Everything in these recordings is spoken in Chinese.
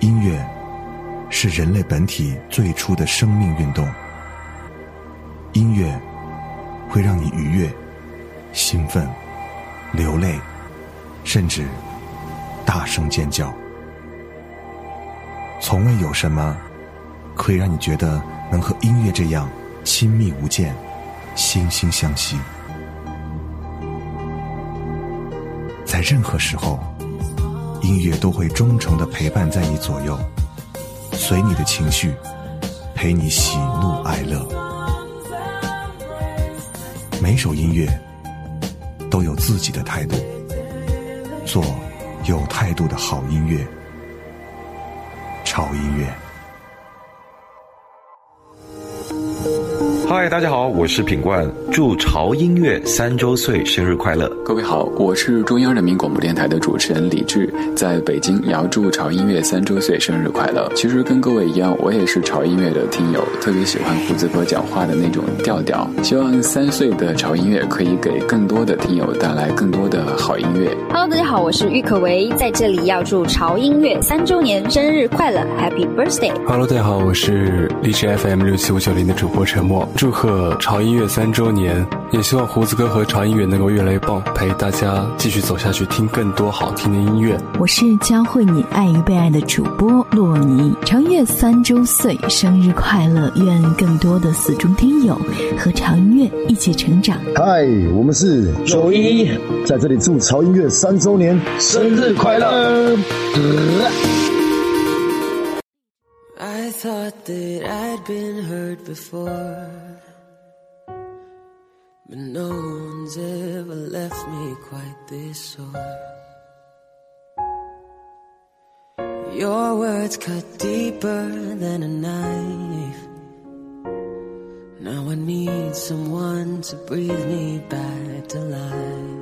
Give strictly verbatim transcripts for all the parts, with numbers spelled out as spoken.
音乐是人类本体最初的生命运动，音乐会让你愉悦、兴奋、流泪，甚至大声尖叫。从未有什么可以让你觉得能和音乐这样亲密无间、惺惺相惜。在任何时候，音乐都会忠诚地陪伴在你左右，随你的情绪，陪你喜怒哀乐。每首音乐都有自己的态度，做有态度的好音乐。潮音乐。 嗨，大家好，我是品冠，祝潮音乐三周岁生日快乐！ 各位好，我是中央人民广播电台的主持人李志，在北京也要祝潮音乐三周岁生日快乐。其实跟各位一样，我也是潮音乐的听友，特别喜欢胡子哥讲话的那种调调。希望三岁的潮音乐可以给更多的听友带来更多的好音乐。 Hello， 大家好，我是郁可唯，在这里要祝潮音乐三周年生日快乐 ，Happy Birthday！Hello， 大家好，我是荔枝 F M 六七五九零的主播陈默。祝贺潮音乐三周年，也希望胡子哥和潮音乐能够越来越棒，陪大家继续走下去，听更多好听的音乐。 我是教会你爱与被爱的主播洛尼，潮音乐三周岁生日快乐，愿更多的死忠听友和潮音乐一起成长。 嗨，我们是九一，在这里祝潮音乐三周年生日快乐。 I thought that I'd been hurt before, but no one's ever left me quite this sore. Your words cut deeper than a knife. Now I need someone to breathe me back to life.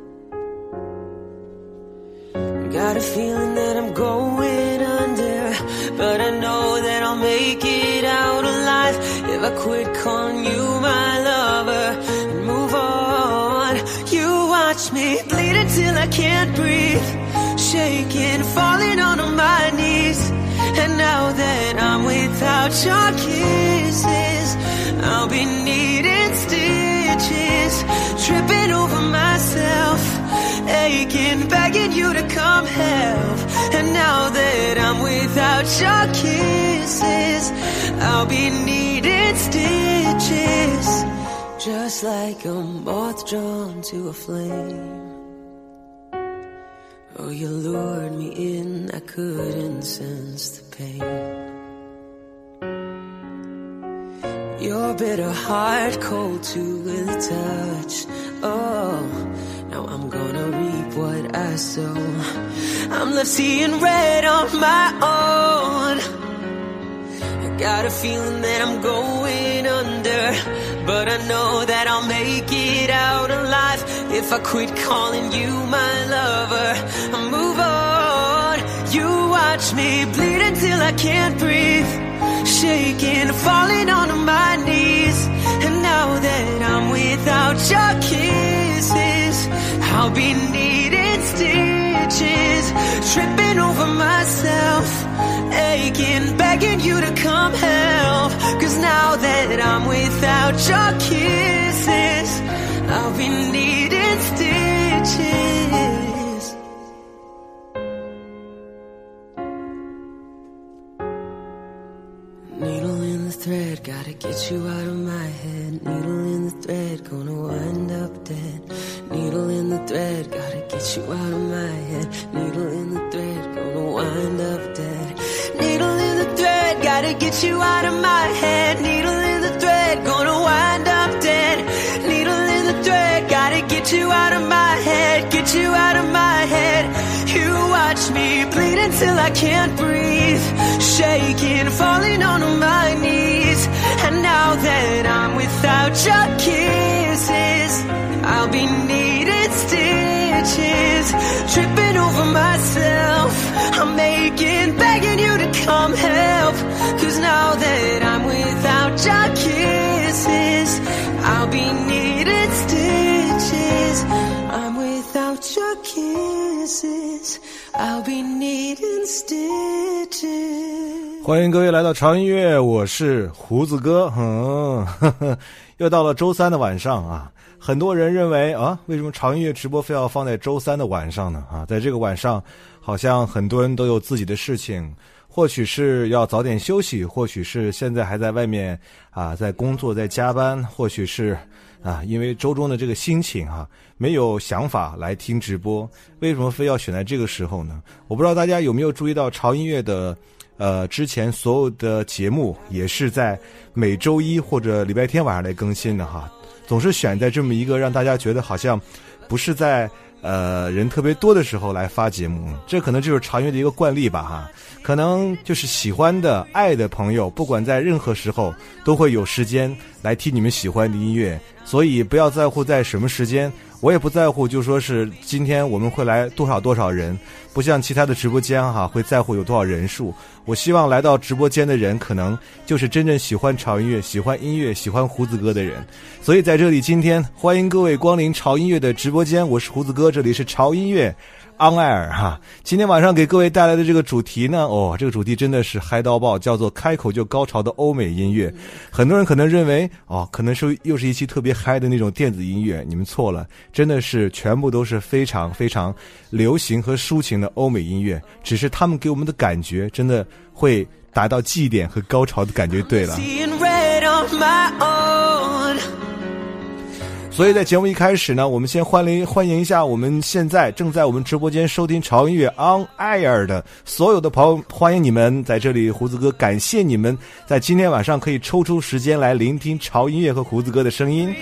Got a feeling that I'm going under, but I know that I'll make it out alive if I quit calling you my lover and move on. You watch me bleed until I can't breathe, shaking, falling onto my knees. And now that I'm without your kisses, I'll be needing stitches, tripping over myself, aching, begging you to come help. And now that I'm without your kisses, I'll be needing stitches, just like a moth drawn to a flame. Oh, you lured me in, I couldn't sense the pain. Your bitter heart cold to the touch. Oh, now I'm gonna reap what I sow. I'm left seeing red on my own. I got a feeling that I'm going under, but I know that I'll make it out alive if I quit calling you my lover and move on. You watch me bleed until I can't breathe, shaking, falling onto my knees. And now that I'm without your kisses, I'll be needing stitches, tripping over myself, aching, begging you to come help. Cause now that I'm without your kisses, I'll be needing stitches. Needle in the thread, gotta get you out of my head. Needle in the thread, gonna wind up dead. Needle in the thread, gotta get you out of my head. Needle in the thread, gonna wind up dead. Needle in the thread, gotta get you out of my head. Needle in the thread, gonna wind up dead. Needle in the thread, gotta get you out of my head. Get you out of my head. You watch me bleed until I can't breathe, shaking, falling onto my knees. And now that I'm without your kisses, I'll be needing stitches, tripping over myself, I'm making, begging you to come help. Cause now that I'm without your kisses, I'll be needing stitches. I'm without your kisses, I'll be needing stitches. 欢迎各位来到潮音乐，我是胡子哥。嗯，呵呵，又到了周三的晚上啊。很多人认为啊，为什么潮音乐直播非要放在周三的晚上呢？啊，在这个晚上，好像很多人都有自己的事情，或许是要早点休息，或许是现在还在外面啊，在工作，在加班，或许是啊，因为周中的这个心情啊，没有想法来听直播。为什么非要选在这个时候呢？我不知道大家有没有注意到潮音乐的呃，之前所有的节目也是在每周一或者礼拜天晚上来更新的哈，总是选在这么一个让大家觉得好像不是在呃人特别多的时候来发节目，这可能就是潮音乐的一个惯例吧哈。可能就是喜欢的爱的朋友，不管在任何时候都会有时间来听你们喜欢的音乐，所以不要在乎在什么时间，我也不在乎就说是今天我们会来多少多少人，不像其他的直播间哈会在乎有多少人数。我希望来到直播间的人可能就是真正喜欢潮音乐，喜欢音乐，喜欢胡子哥的人。所以在这里今天欢迎各位光临潮音乐的直播间，我是胡子哥，这里是潮音乐On Air 哈，今天晚上给各位带来的这个主题呢，哦，这个主题真的是嗨到爆，叫做开口就高潮的欧美音乐。很多人可能认为，哦，可能是又是一期特别嗨的那种电子音乐，你们错了，真的是全部都是非常非常流行和抒情的欧美音乐，只是他们给我们的感觉真的会达到绩点和高潮的感觉。对了。所以在节目一开始呢，我们先欢迎欢迎一下我们现在正在我们直播间收听潮音乐 On Air 的所有的朋友，欢迎你们在这里。胡子哥感谢你们在今天晚上可以抽出时间来聆听潮音乐和胡子哥的声音。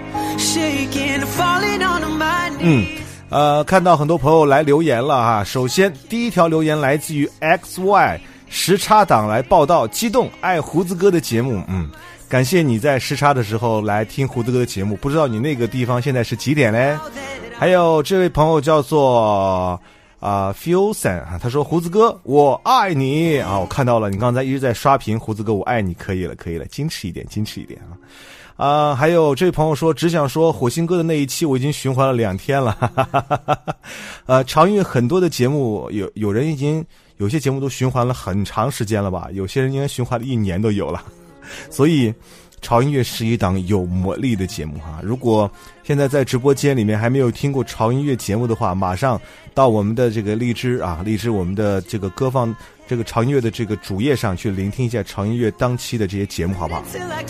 嗯，呃，看到很多朋友来留言了哈。首先第一条留言来自于 X Y 时差党来报道，激动爱胡子哥的节目。嗯。感谢你在时差的时候来听胡子哥的节目，不知道你那个地方现在是几点嘞？还有这位朋友叫做啊 Fusion 啊，他说胡子哥我爱你啊，我看到了，你刚才一直在刷屏，胡子哥我爱你，可以了可以了，矜持一点矜持一点啊。啊、呃，还有这位朋友说，只想说火星哥的那一期我已经循环了两天了，哈哈哈哈哈。呃，潮音乐很多的节目，有有人已经有些节目都循环了很长时间了吧，有些人应该循环了一年都有了。所以潮音乐是一档有魔力的节目哈，如果现在在直播间里面还没有听过潮音乐节目的话，马上到我们的这个荔枝啊，荔枝我们的这个歌放这个潮音乐的这个主页上去聆听一下潮音乐当期的这些节目，好不好？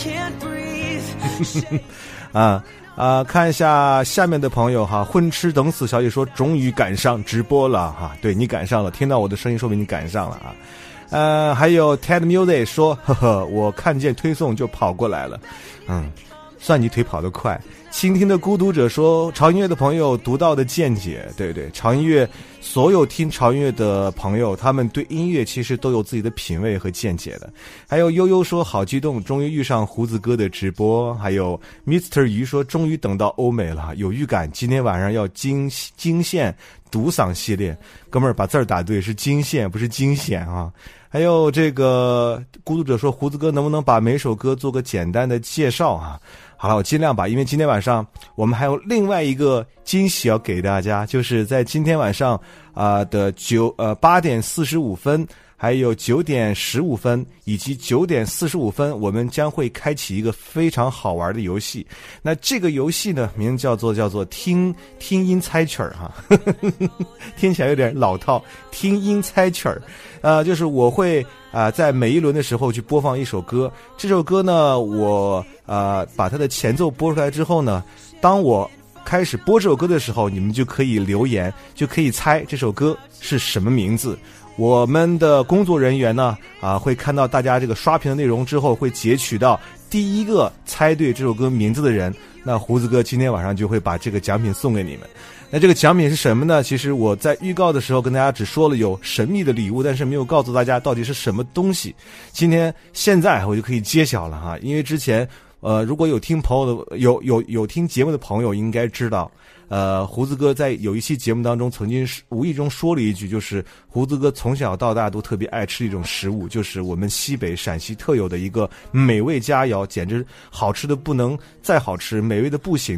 啊啊，看一下下面的朋友哈，混吃等死小姐说终于赶上直播了哈，对你赶上了，听到我的声音说明你赶上了啊。呃，还有 Ted Music 说，呵呵，我看见推送就跑过来了，嗯，算你腿跑得快。倾听的孤独者说，潮音乐的朋友独到的见解，对对，潮音乐所有听潮音乐的朋友，他们对音乐其实都有自己的品味和见解的。还有悠悠说好激动，终于遇上胡子哥的直播。还有 Mister 鱼说，终于等到欧美了，有预感今天晚上要惊惊现独嗓系列。哥们儿把字儿打对，是惊现不是惊险啊。还有这个孤独者说，胡子哥能不能把每首歌做个简单的介绍啊？好了，我尽量吧，因为今天晚上我们还有另外一个惊喜要给大家，就是在今天晚上啊、呃、的九呃八点四十五分，还有九点十五分以及九点四十五分，我们将会开启一个非常好玩的游戏。那这个游戏呢，名字叫做叫做听听音猜曲儿哈，听起来有点老套，听音猜曲儿。呃，就是我会啊、呃，在每一轮的时候去播放一首歌，这首歌呢，我呃把它的前奏播出来之后呢，当我开始播这首歌的时候，你们就可以留言，就可以猜这首歌是什么名字。我们的工作人员呢，啊，会看到大家这个刷屏的内容之后，会截取到第一个猜对这首歌名字的人，那胡子哥今天晚上就会把这个奖品送给你们。那这个奖品是什么呢？其实我在预告的时候跟大家只说了有神秘的礼物，但是没有告诉大家到底是什么东西。今天现在我就可以揭晓了哈，因为之前呃如果有听朋友的有有有听节目的朋友应该知道，呃胡子哥在有一期节目当中曾经无意中说了一句，就是胡子哥从小到大都特别爱吃一种食物，就是我们西北陕西特有的一个美味佳肴，简直好吃的不能再好吃，美味的不行的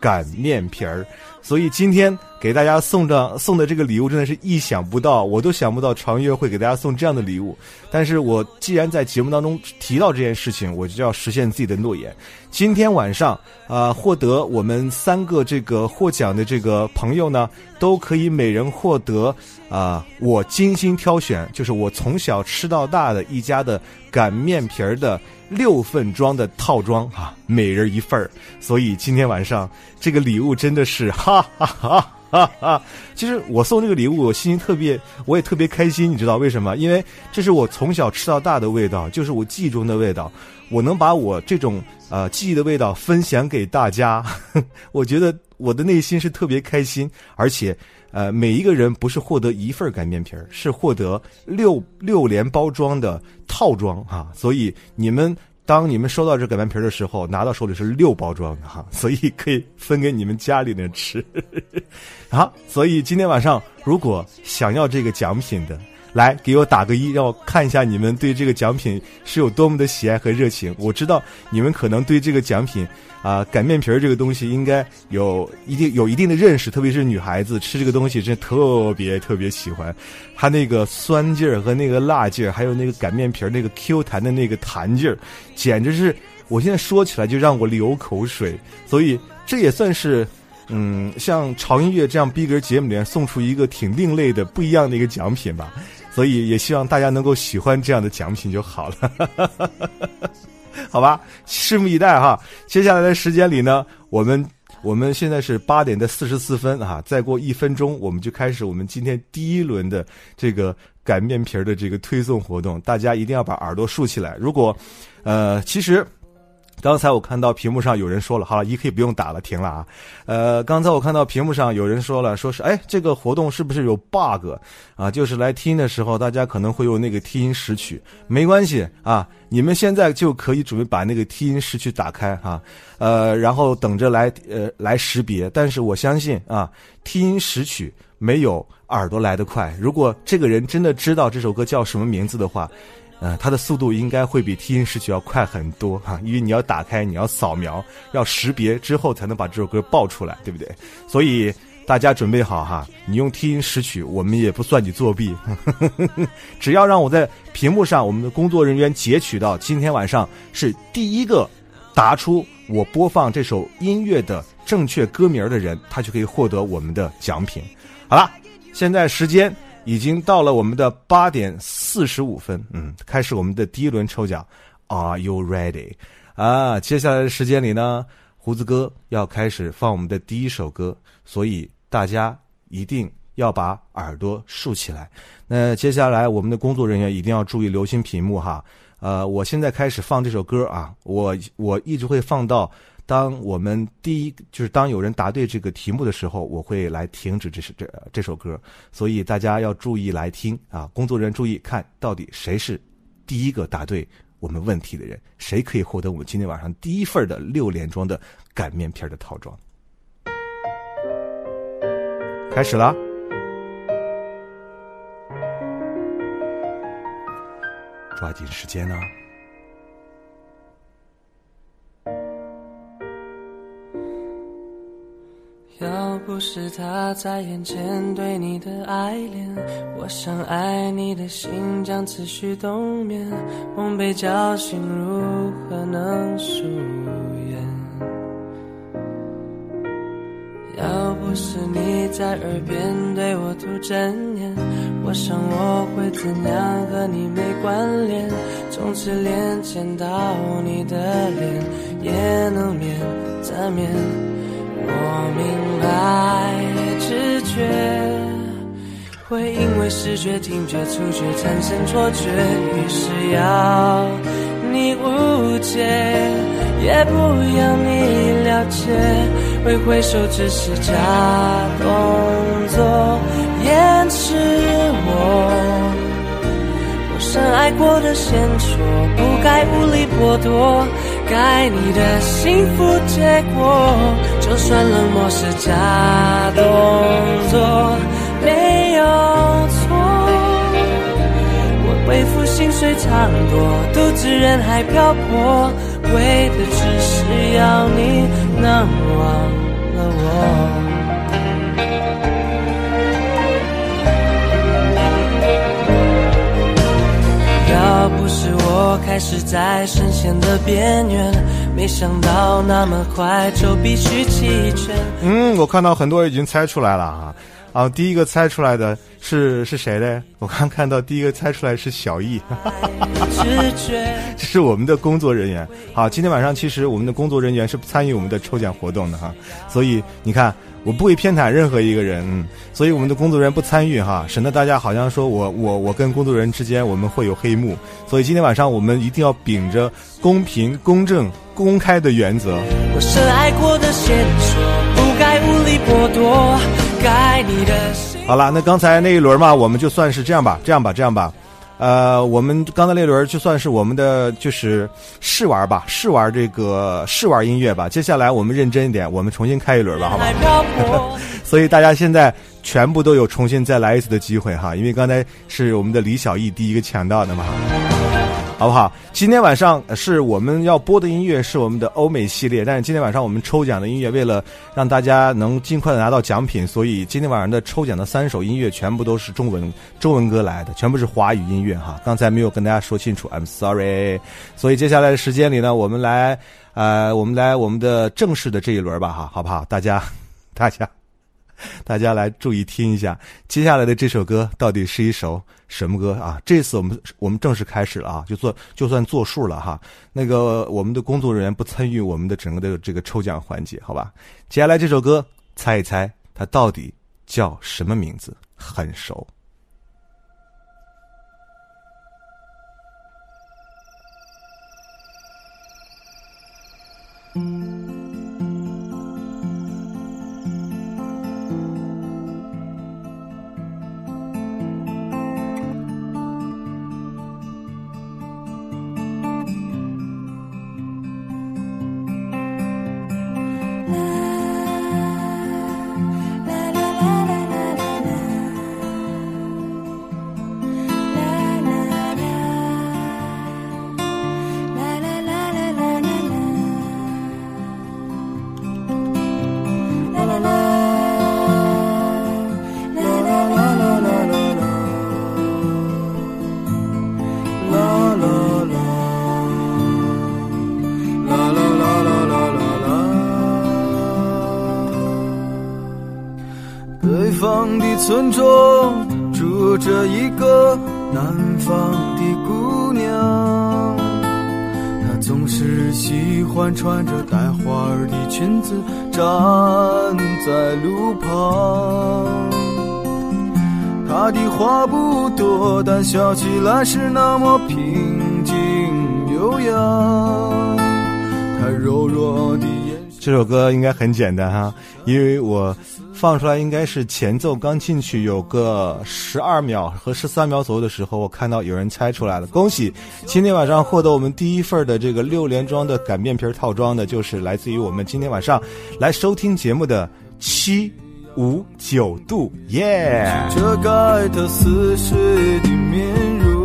擀面皮儿。所以今天给大家送的送的这个礼物真的是意想不到，我都想不到潮音乐会给大家送这样的礼物。但是我既然在节目当中提到这件事情，我就要实现自己的诺言。今天晚上啊、呃，获得我们三个这个获奖的这个朋友呢，都可以每人获得啊、呃，我精心挑选，就是我从小吃到大的一家的擀面皮儿的六份装的套装啊，每人一份儿。所以今天晚上这个礼物真的是哈哈哈哈哈！其实我送这个礼物，我心情特别，我也特别开心，你知道为什么？因为这是我从小吃到大的味道，就是我记忆中的味道。我能把我这种呃记忆的味道分享给大家，呵呵，我觉得我的内心是特别开心。而且呃，每一个人不是获得一份擀面皮儿，是获得六六连包装的套装啊。所以你们当你们收到这擀面皮儿的时候，拿到手里是六包装的哈，所以可以分给你们家里人吃。好，所以今天晚上如果想要这个奖品的，来给我打个一，让我看一下你们对这个奖品是有多么的喜爱和热情。我知道你们可能对这个奖品啊、呃，擀面皮儿这个东西应该有一定有一定的认识，特别是女孩子吃这个东西真的特别特别喜欢。它那个酸劲儿和那个辣劲儿，还有那个擀面皮儿那个 Q 弹的那个弹劲儿，简直是我现在说起来就让我流口水。所以这也算是嗯，像潮音乐这样逼格节目里面送出一个挺另类的不一样的一个奖品吧。所以也希望大家能够喜欢这样的奖品就好了。好吧，拭目以待哈。接下来的时间里呢，我们我们现在是八点的四十四分啊，再过一分钟我们就开始我们今天第一轮的这个擀面皮的这个推送活动，大家一定要把耳朵竖起来。如果呃其实刚才我看到屏幕上有人说了，好了，一可以不用打了，停了啊。呃，刚才我看到屏幕上有人说了，说是哎，这个活动是不是有 bug 啊？就是来听的时候，大家可能会有那个听音识曲，没关系啊，你们现在就可以准备把那个听音识曲打开啊，呃，然后等着来呃来识别。但是我相信啊，听音识曲没有耳朵来得快。如果这个人真的知道这首歌叫什么名字的话，呃，它的速度应该会比听音识曲要快很多哈，因为你要打开，你要扫描，要识别之后才能把这首歌报出来，对不对？所以大家准备好哈，你用听音识曲，我们也不算你作弊，只要让我在屏幕上，我们的工作人员截取到今天晚上是第一个答出我播放这首音乐的正确歌名的人，他就可以获得我们的奖品。好了，现在时间已经到了我们的八点四十五分，嗯，开始我们的第一轮抽奖。Are you ready？ 啊，接下来的时间里呢，胡子哥要开始放我们的第一首歌，所以大家一定要把耳朵竖起来。那接下来我们的工作人员一定要注意留心屏幕哈。呃，我现在开始放这首歌啊，我我一直会放到当我们第一就是当有人答对这个题目的时候，我会来停止这首这这首歌，所以大家要注意来听啊！工作人员注意看到底谁是第一个答对我们问题的人，谁可以获得我们今天晚上第一份的六连装的擀面皮的套装。开始了，抓紧时间啊！ 要不是他在眼前对你的爱恋，我想爱你的心将持续冬眠，梦被叫醒如何能疏远？要不是你在耳边对我吐真言，我想我会怎样和你没关联，从此连见到你的脸也能免则免。我明白直觉会因为视觉、听觉、触觉产生错觉，于是要你误解，也不要你了解，挥挥手只是假动作，掩饰我我深爱过的线索，不该无理剥夺该你的幸福结果，就算冷漠是假动作没有错，我为赋薪水藏躲，独自人海漂泊，为的只是要你能忘了要不是我开始在深陷的边缘，没想到那么快就必须弃权。 嗯，我看到很多人已经猜出来了啊。啊，第一个猜出来的是是谁呢？我刚看到第一个猜出来是小易，这是我们的工作人员。好，今天晚上其实我们的工作人员是参与我们的抽奖活动的哈，所以你看我不会偏袒任何一个人，嗯，所以我们的工作人员不参与哈，省得大家好像说我我我跟工作人员之间我们会有黑幕，所以今天晚上我们一定要秉着公平、公正、公开的原则。 我深爱过的线索，不该无理剥夺。 好了，那刚才那一轮嘛，我们就算是这样吧，这样吧，这样吧，呃，我们刚才那轮就算是我们的就是试玩吧，试玩这个试玩音乐吧。接下来我们认真一点，我们重新开一轮吧，好吧？所以大家现在全部都有重新再来一次的机会哈，因为刚才是我们的李小艺第一个抢到的嘛。好不好？今天晚上是我们要播的音乐是我们的欧美系列，但是今天晚上我们抽奖的音乐为了让大家能尽快的拿到奖品，所以今天晚上的抽奖的三首音乐全部都是中文中文歌来的，全部是华语音乐哈。刚才没有跟大家说清楚 ，I'm sorry。所以接下来的时间里呢，我们来呃，我们来我们的正式的这一轮吧哈，好不好？大家，大家。大家来注意听一下，接下来的这首歌到底是一首什么歌啊？这次我们我们正式开始了啊，就做就算作数了哈。那个我们的工作人员不参与我们的整个的这个抽奖环节，好吧？接下来这首歌，猜一猜它到底叫什么名字？很熟。 村中住着一个南方的姑娘，她总是喜欢穿着带花儿的裙子站在路旁，她的话不多，但笑起来是那么平静悠扬，她柔弱的眼神。 这首歌应该很简单哈，因为我放出来应该是前奏刚进去有个十二秒和十三秒左右的时候，我看到有人猜出来了，恭喜！今天晚上获得我们第一份的这个六连装的擀面皮套装的，就是来自于我们今天晚上来收听节目的七五九度，耶、yeah! 遮盖他似水的面容。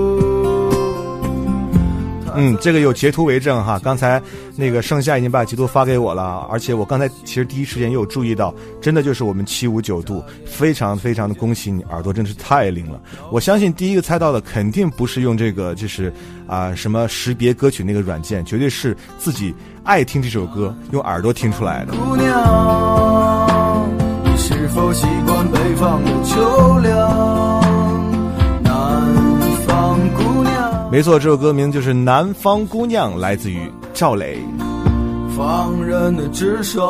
嗯，这个有截图为证哈，刚才那个盛夏已经把截图发给我了，而且我刚才其实第一时间也有注意到，真的就是我们七五九度，非常非常的恭喜你，耳朵真是太灵了。我相信第一个猜到的肯定不是用这个就是啊、呃、什么识别歌曲那个软件，绝对是自己爱听这首歌用耳朵听出来的。 姑娘，你是否习惯北方的秋凉？ 没错，这首歌名就是《南方姑娘》，来自于赵磊。 放任的直爽，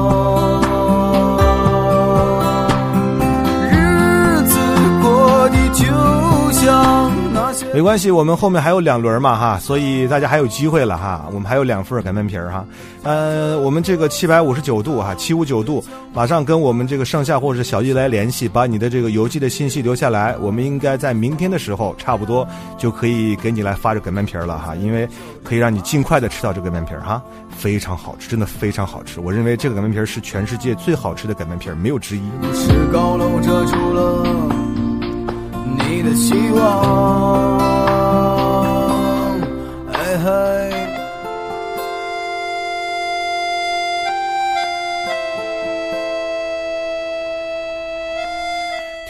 日子过得就像那些。 没关系，我们后面还有两轮嘛哈，所以大家还有机会了哈。我们还有两份擀面皮哈，呃，我们这个七百五十九度哈，七五九度，马上跟我们这个盛夏或者是小易来联系，把你的这个邮寄的信息留下来，我们应该在明天的时候差不多就可以给你来发这擀面皮了哈，因为可以让你尽快的吃到这个擀面皮哈，非常好吃，真的非常好吃。我认为这个擀面皮是全世界最好吃的擀面皮，没有之一。 是高楼遮住了你的希望，哎嗨。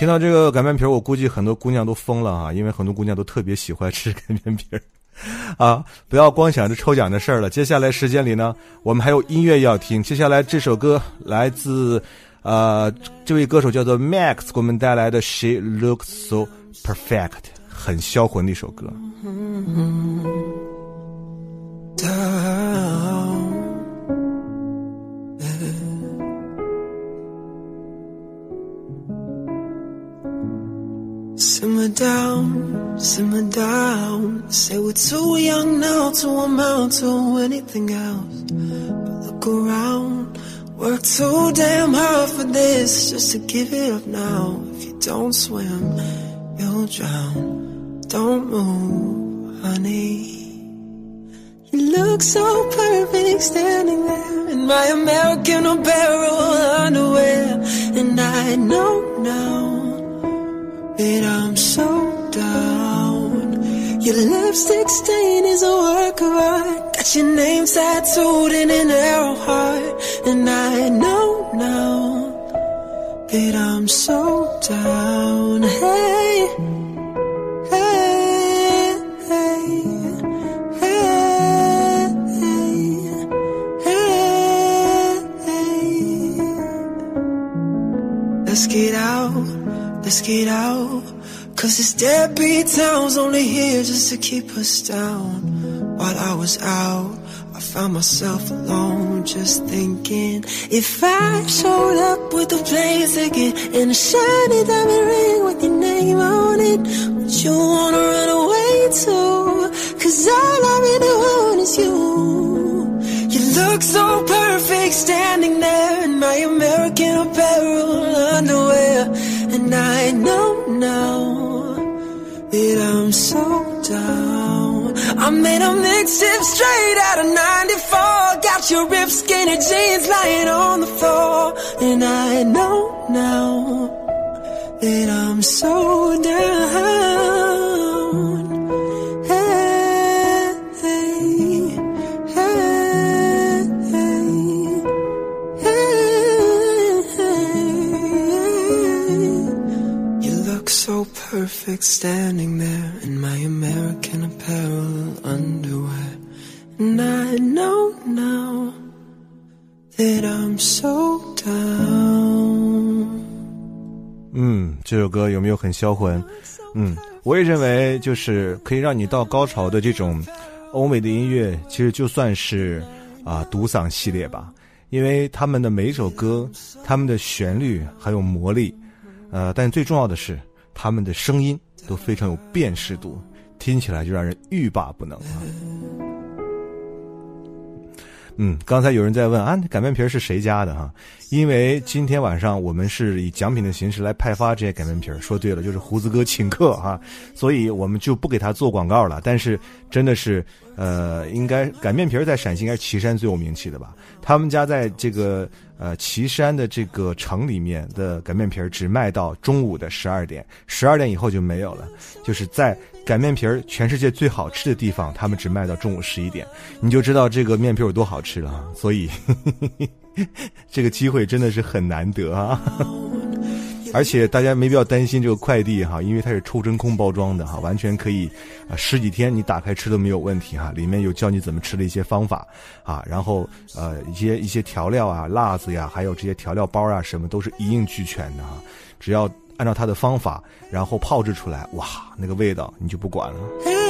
听到这个擀面皮，我估计很多姑娘都疯了啊，因为很多姑娘都特别喜欢吃擀面皮啊。不要光想着抽奖的事儿了，接下来时间里呢，我们还有音乐要听。接下来这首歌来自呃这位歌手叫做 Max 给我们带来的 She Looks So Perfect， 很销魂的一首歌。 Simmer down, simmer down. Say we're too young now to amount to anything else. But look around, work too damn hard for this, just to give it up now. If you don't swim, you'll drown. Don't move, honey. You look so perfect standing there in my American Apparel underwear. And I know now that I'm so down. Your lipstick stain is a work of art. Got your name tattooed in an arrow heart. And I know now that I'm so down. Hey, hey, hey, hey, hey, hey. Let's get out. Let's get out, cause this deadbeat town's only here just to keep us down. While I was out, I found myself alone, just thinking, if I showed up with a plane ticket and a shiny diamond ring with your name on it, would you wanna run away too? Cause all I really want is you. You look so perfect standing there in my American Apparel underwear. And I know now that I'm so down. I made a mixtape straight out of ninety-four. Got your ripped skinny jeans lying on the floor. And I know now that I'm so down. Hey, hey, hey, hey, hey. You look so perfect standing there in my American Apparel underwear. And I know now that I'm so down. 嗯，这首歌有没有很销魂？嗯，我也认为就是可以让你到高潮的这种欧美的音乐，其实就算是啊、呃、独嗓系列吧，因为他们的每一首歌，他们的旋律还有魔力，呃，但最重要的是他们的声音都非常有辨识度，听起来就让人欲罢不能啊。嗯，刚才有人在问啊，擀面皮是谁家的哈？因为今天晚上我们是以奖品的形式来派发这些擀面皮，说对了，就是胡子哥请客哈，所以我们就不给他做广告了。但是真的是，呃，应该擀面皮在陕西应该是岐山最有名气的吧？他们家在这个呃岐山的这个城里面的擀面皮只卖到中午的十二点，十二点以后就没有了。就是在擀面皮全世界最好吃的地方，他们只卖到中午十一点，你就知道这个面皮有多好吃了。所以呵呵这个机会真的是很难得啊。而且大家没必要担心这个快递哈，因为它是抽真空包装的哈，完全可以啊十几天你打开吃都没有问题哈。里面有教你怎么吃的一些方法啊，然后呃一些一些调料啊、辣子呀，还有这些调料包啊，什么都是一应俱全的哈。只要按照它的方法，然后炮制出来，哇，那个味道你就不管了。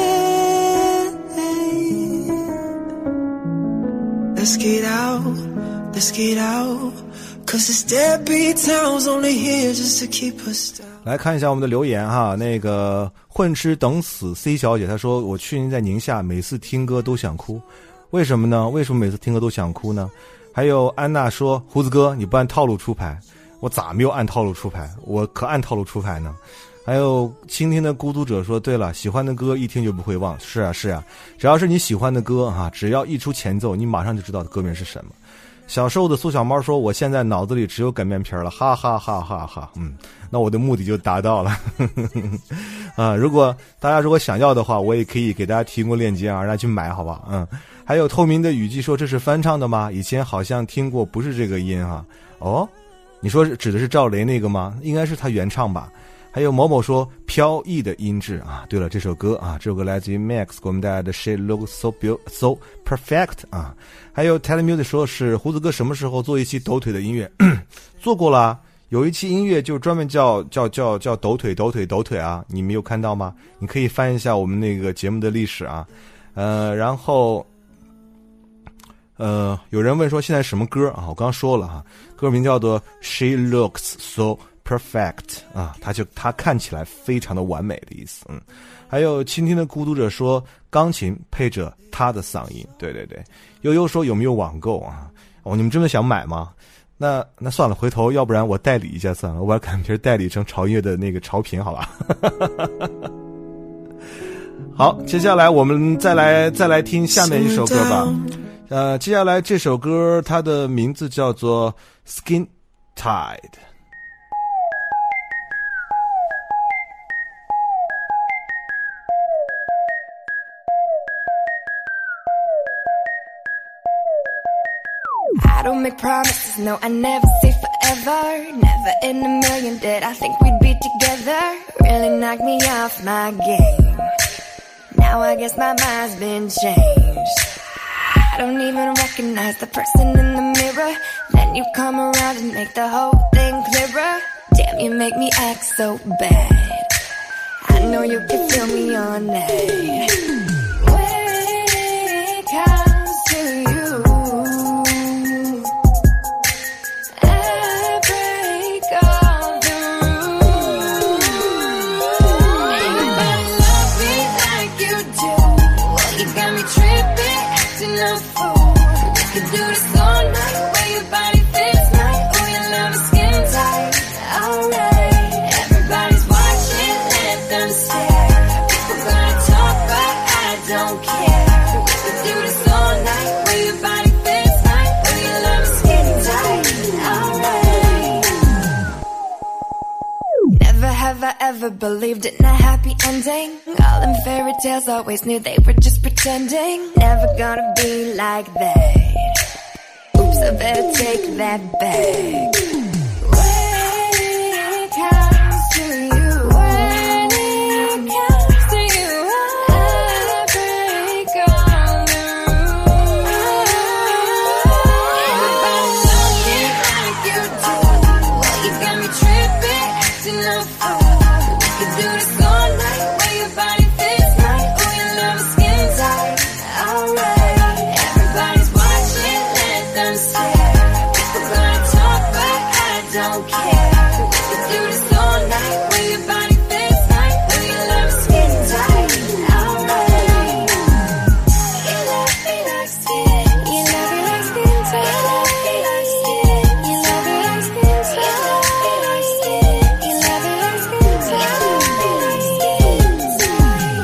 Let's get out, let's get out, cause this deadbeat town's only here just to keep us down. 来看一下我们的留言哈，那个混吃等死 C 小姐她说，我去年在宁夏每次听歌都想哭，为什么呢？为什么每次听歌都想哭呢？还有安娜说，胡子哥你不按套路出牌，我咋没有按套路出牌？我可按套路出牌呢。还有倾听的孤独者说，对了，喜欢的歌一听就不会忘。是啊是啊，只要是你喜欢的歌啊，只要一出前奏，你马上就知道歌名是什么。小瘦的苏小猫说，我现在脑子里只有擀面皮了，哈哈哈哈哈。嗯，那我的目的就达到了。啊，如果大家如果想要的话，我也可以给大家提供链接啊，让大家去买，好吧？嗯。还有透明的雨季说，这是翻唱的吗？以前好像听过，不是这个音啊。哦， 你说指的是赵雷那个吗？应该是他原唱吧。还有某某说飘逸的音质啊，对了，这首歌啊，这首歌来自于 Max 给我们带来的 She Looks So Beautiful So Perfect 啊。还有 Telemusic 说是胡子哥什么时候做一期抖腿的音乐？做过了，有一期音乐就专门叫叫叫叫抖腿抖腿抖腿啊，你没有看到吗？你可以翻一下我们那个节目的历史啊。呃，然后呃，有人问说现在什么歌啊？我刚刚说了哈，歌名叫做 She Looks So Perfect 啊，它就它看起来非常的完美的意思。嗯，还有倾听的孤独者说钢琴配着他的嗓音，对对对。悠悠说有没有网购啊？哦，你们真的想买吗？那那算了，回头要不然我代理一下算了，我把感觉代理成潮音乐的那个潮频，好吧？好，接下来我们再来再来听下面一首歌吧。呃，接下来这首歌它的名字叫做 Skin Tide。I don't make promises, no, I never say forever. Never in a million did I think we'd be together. Really knocked me off my game. Now I guess my mind's been changed. I don't even recognize the person in the mirror. Then you come around and make the whole thing clearer. Damn, you make me act so bad. I know you can feel me all night. When it comes to you, I break all the rules. Ain't nobody love me like you do. Well, you got me tripping, acting a fool. We could do this all night, where your body fits right. Oh, your love is skin tight. Alright, everybody's watching, let them stare. People gonna talk, but I don't care. We could do this all night, where your body fits right. Oh, your love is skin tight. Alright. Never have I ever believed in a happy ending. All them fairy tales always knew they were just pretending. Never gonna be like that. Oops, I better take that back. When it comes to you, when it comes to you, I break all the rules. Everybody love me like you do. Well, you got me tripping, acting a fool. We could do this all night, where your body fits right. Oh, your love is skin tight. Alright, everybody's watching, let them stare. People gonna talk, but I don't care. We could do this all night, where your body fits right. Oh, your love is skin tight. Alright. You love me like skin. You love me like skin tight. You love me like skin. You love me like skin tight. You love me like skin. You love me like skin tight. You love me like skin tight.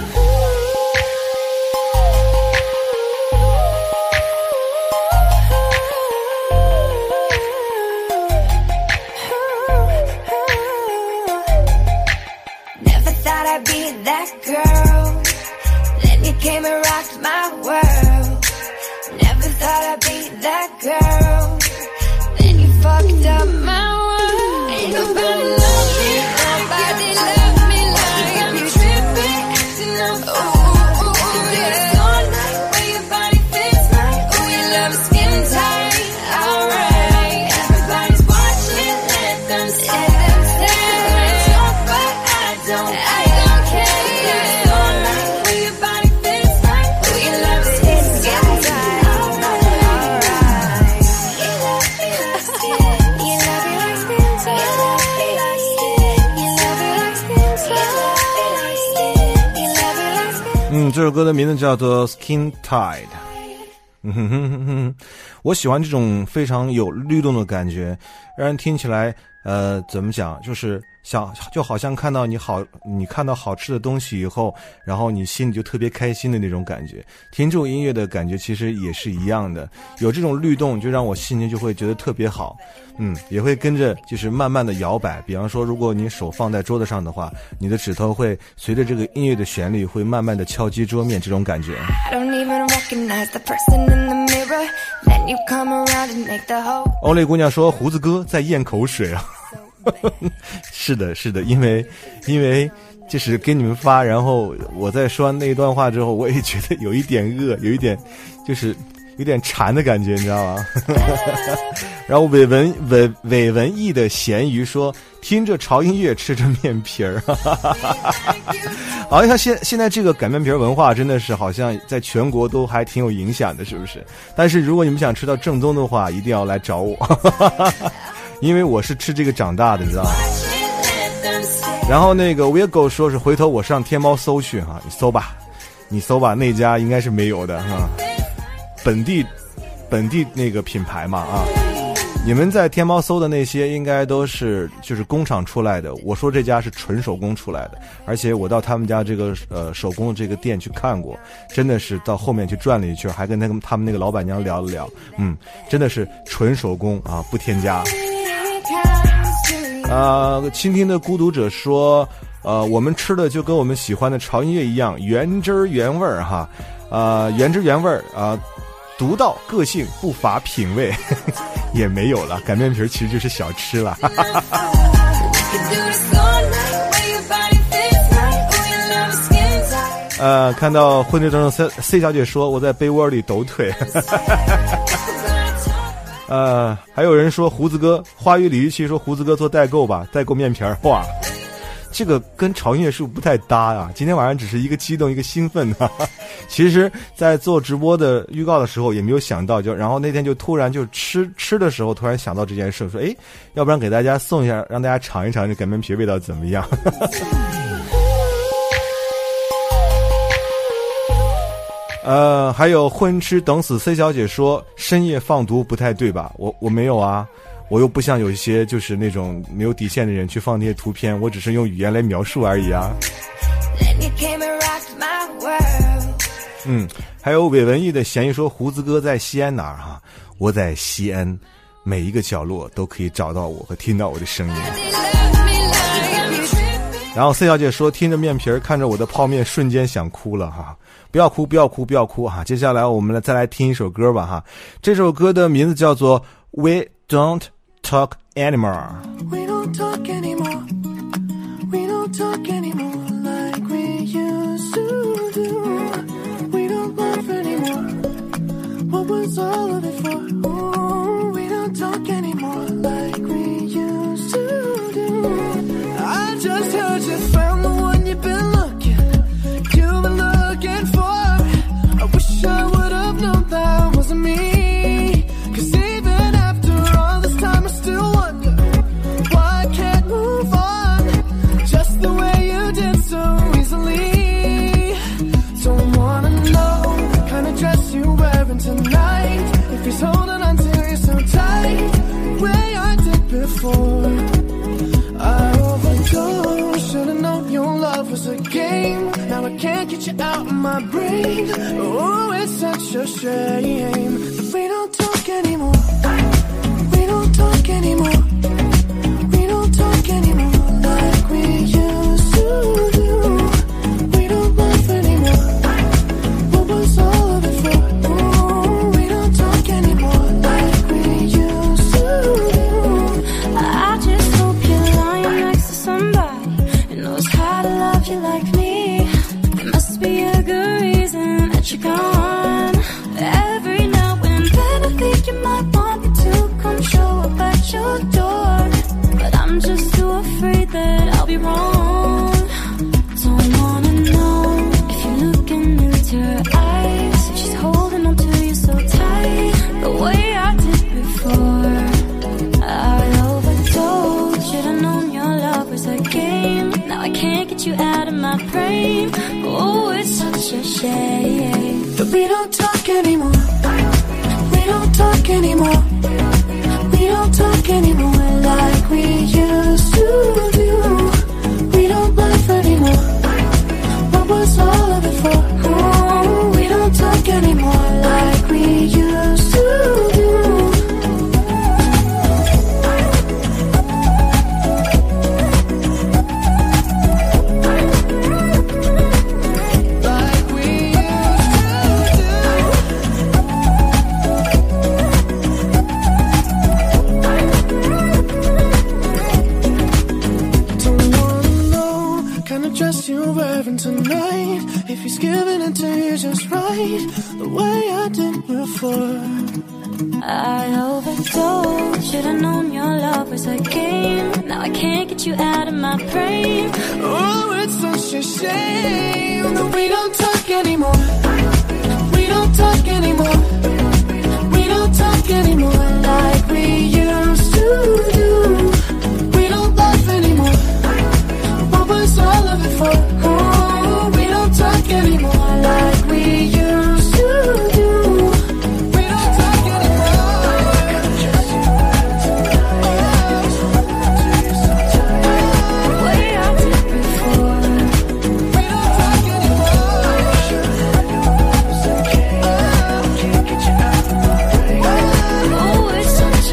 Never thought I'd be that girl. Then you came and rocked my world. Never thought I'd be that girl. Then you fucked up my world. Ain't nobody love me, nobody love me like you. Got me tripping, acting a fool. We could do this all night, where your body fits right. Oh, your love is skin tight. Alright, everybody's watching, let them stare. Talk, but I don't, I don't care. We do this all night, where your body fits right. Oh, your love is skin tight. Alright, you love me like skin. You love me like skin tight. You love me like skin. You love me like skin tight. You love me like skin. You love me like skin. 嗯，这首歌的名字叫做 Skin Tide。嗯哼哼哼哼，我喜欢这种非常有律动的感觉，让人听起来，呃，怎么讲，就是想就好像看到你好，你看到好吃的东西以后，然后你心里就特别开心的那种感觉。听这种音乐的感觉其实也是一样的，有这种律动，就让我心情就会觉得特别好。嗯，也会跟着就是慢慢的摇摆。比方说，如果你手放在桌子上的话，你的指头会随着这个音乐的旋律，会慢慢的敲击桌面，这种感觉。 I don't even recognize the person in the mirror. Then you come around and make the whole 欧蕾姑娘说胡子哥在咽口水啊。是的是的，因为因为就是给你们发，然后我在说完那一段话之后，我也觉得有一点饿，有一点就是有点馋的感觉，你知道吗？然后韦文韦韦文艺的咸鱼说，听着潮音乐吃着面皮儿。好像现现在这个擀面皮文化真的是好像在全国都还挺有影响的，是不是？但是如果你们想吃到正宗的话，一定要来找我。因为我是吃这个长大的，你知道吗？然后那个 Vigo 说是回头我上天猫搜去哈，你搜吧，你搜吧，那家应该是没有的哈，本地本地那个品牌嘛啊，你们在天猫搜的那些应该都是就是工厂出来的，我说这家是纯手工出来的，而且我到他们家这个呃手工的这个店去看过，真的是到后面去转了一圈，还跟那个他们那个老板娘聊了聊，嗯，真的是纯手工啊，不添加。呃，倾听的孤独者说，呃，我们吃的就跟我们喜欢的潮音乐一样，原汁原味儿哈，呃，原汁原味儿啊、呃，独到个性，不乏品味，也没有了。擀面皮其实就是小吃了。呃，看到婚礼当中 C C 小姐说我在被窝里抖腿。呃，还有人说胡子哥，花语李玉琪说胡子哥做代购吧，代购面皮儿，哇，这个跟潮音乐是不是不太搭啊？今天晚上只是一个激动，一个兴奋啊。其实，在做直播的预告的时候也没有想到，就然后那天就突然就吃吃的时候突然想到这件事，说哎，要不然给大家送一下，让大家尝一尝这擀面皮味道怎么样。呃，还有混吃等死 C 小姐说深夜放毒不太对吧？我我没有啊，我又不像有一些就是那种没有底线的人去放那些图片，我只是用语言来描述而已啊。嗯，还有韦文艺的嫌疑说胡子哥在西安哪儿哈？我在西安，每一个角落都可以找到我和听到我的声音。然后 C 小姐说听着面皮儿看着我的泡面瞬间想哭了哈，不要哭不要哭不要哭哈。接下来我们来再来听一首歌吧哈，这首歌的名字叫做 We Don't Talk Anymore。 We don't talk anymore, we don't talk anymore like we used to do. We don't laugh anymore, what was all of it for? Ooh, we don't talk anymore like we used to do. I just heard you found the one you've been looking, you've been looking for. I wish I would have known that wasn't me. Cause even after all this time I still wonder why I can't move on just the way you did so easily. Don't wanna know the kind of dress you're wearing tonight, if he's holding on to you so tight the way I did before. I overdosed, should've known your love was a game. Now I can't get you out of my brain. Oh, it's such a shame that we don't talk anymore. We don't talk anymore. We don't talk anymore like we used to do. We don't laugh anymore, what was all of it for? Oh, we don't talk anymore like we used to do. I just hope you're lying next to somebody who knows how to love you like me. There must be a good reason that you're gone. Every now and then I think you might want me to come show up at your door, but I'm just too afraid that I'll be wrong. Don't wanna know if you're looking into her eyes, if she's holding on to you so tight the way I did before. I overdosed, should've known your love was a game. Now I can't get you out of my brain. Oh, it's such a shame that we don't talk anymore. We don't talk anymore. We don't talk anymore like we used to do. We don't laugh anymore, what was all of it for? Oh, we don't talk anymore like we used to do. Like we used to do. clothes you're wearing tonight. If he's giving it to you just right, the way I did before. I overdosed, should've known your love was a game. Now I can't get you out of my brain. Oh, it's such a shame that we don't talk anymore. We don't talk anymore. We don't talk anymore like we used to do. We don't laugh anymore. What was all of it for? Oh, we don't talk anymore like we used to do. We don't talk anymore. Way I did before. We don't talk anymore. Oh, it's such a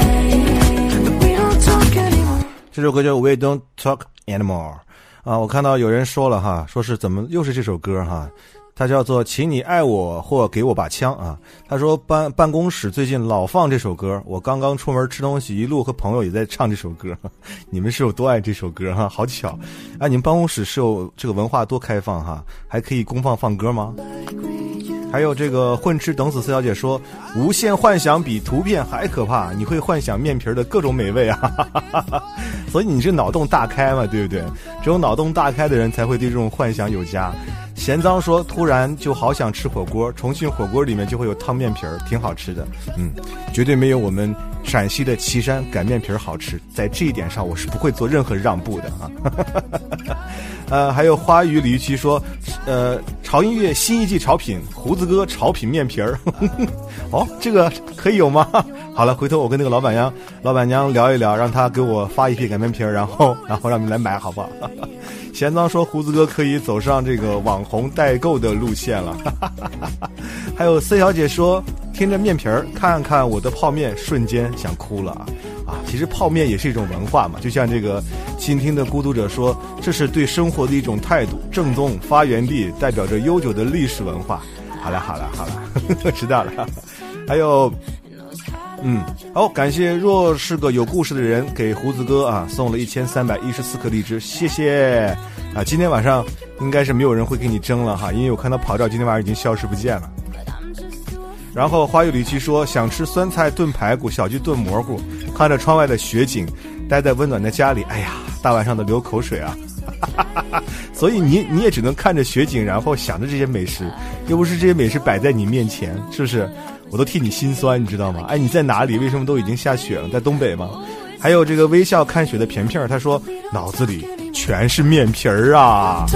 shame that we don't talk anymore. 这首歌叫 We Don't Talk Anymore 啊，我看到有人说了哈，说是怎么又是这首歌哈，它叫做请你爱我或给我把枪啊。他说办办公室最近老放这首歌，我刚刚出门吃东西，一路和朋友也在唱这首歌。你们是有多爱这首歌哈？好巧啊！你们办公室是有这个文化多开放哈，还可以公放放歌吗？还有这个混吃等死四小姐说，无限幻想比图片还可怕，你会幻想面皮的各种美味啊。所以你是脑洞大开嘛，对不对？只有脑洞大开的人才会对这种幻想有加。贤脏说，突然就好想吃火锅，重庆火锅里面就会有汤面皮儿，挺好吃的。嗯，绝对没有我们陕西的岐山擀面皮儿好吃，在这一点上我是不会做任何让步的啊。呃，还有花语李玉琪说，呃，潮音乐新一季潮品，胡子哥潮品面皮儿。哦，这个可以有吗？好了，回头我跟那个老板娘老板娘聊一聊，让她给我发一批擀面皮儿，然后然后让你来买，好不好？贤脏说，胡子哥可以走上这个网红代购的路线了。还有 C 小姐说，听着面皮儿，看看我的泡面，瞬间想哭了啊！啊，其实泡面也是一种文化嘛，就像这个倾听的孤独者说，这是对生活的一种态度，正宗发源地，代表着悠久的历史文化。好了好了好了，知道了。还有嗯，好，感谢若是个有故事的人给胡子哥啊送了一千三百一十四颗荔枝，谢谢啊！今天晚上应该是没有人会给你争了哈，因为我看到跑照今天晚上已经消失不见了。然后花语里奇说，想吃酸菜炖排骨，小鸡炖蘑菇，看着窗外的雪景，待在温暖的家里，哎呀，大晚上的流口水啊！所以你你也只能看着雪景，然后想着这些美食，又不是这些美食摆在你面前，是不是？我都替你心酸，你知道吗？哎，你在哪里？为什么都已经下雪了？在东北吗？还有这个微笑看雪的片片，他说脑子里全是面皮儿啊。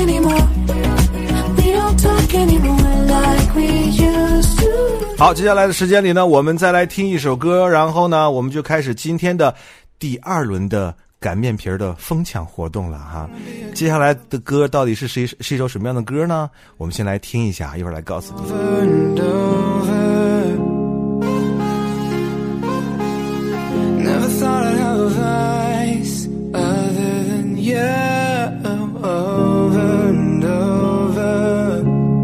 好，接下来的时间里呢，我们再来听一首歌，然后呢，我们就开始今天的第二轮的擀面皮儿的疯抢活动了哈。接下来的歌到底是是是一首什么样的歌呢？我们先来听一下，一会儿来告诉你。 Never thought I'd have a vice other than you, over and over.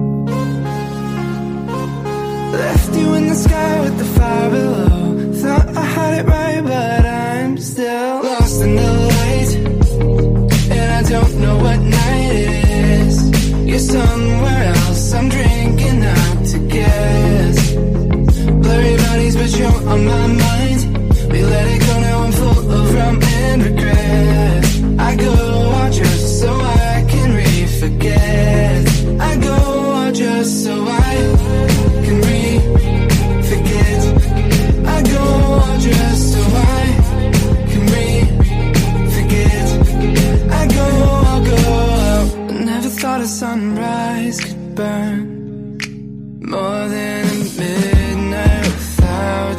Left you in the sky with the fire below. Thought I had it right, but I'm still lost in the light. And I don't know what night it is. You're somewhere else, I'm drinking out to guess. Blurry bodies, but you're on my mind.We let it go, now I'm full of rum and regret. I go out just so I can re-forget. I go out just so I can re-forget. I go out just so I can re-forget. I go, I'll go out. Never thought a sunrise could burn more than a midnight without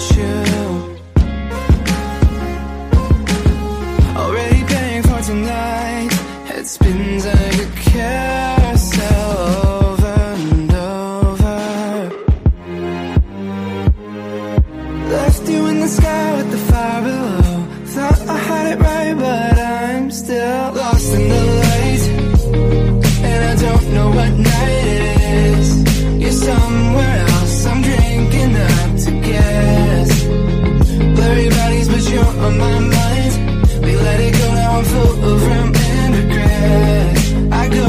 you.Already paying for tonight. Head spins like a carousel over and over. Left you in the sky with the fire below. Thought I had it right, but I'm still lost in the light. And I don't know what night it is. You're somewhere else, I'm drinking up to guess. Blurry bodies, but you're on my mind.We let it go, now I'm full of rum and regret. I go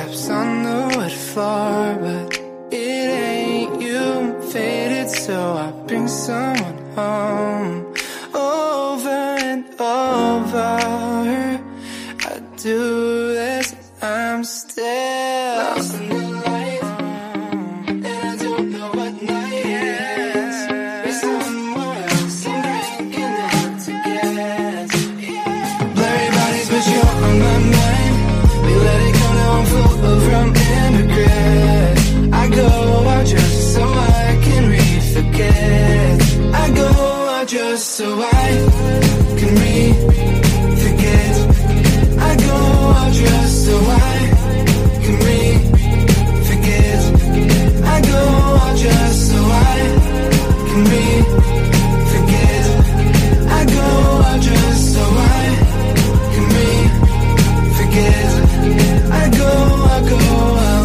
steps on the wood floor, but it ain't you. Faded, so I bring someone home. Over and over, I do this, I'm still lost in the light, and I don't know what night is. We're somewhere else, I'm drinking hard to get. Blurry bodies, but you're on my mind. We let it go, now I'm full from immigrant. I go out just so I can re-forget. I go out just so I can re-forget. I go out just so I can re-forget. I go out just so I can re-forget. I go out just so I can re-forget. I go, I go out.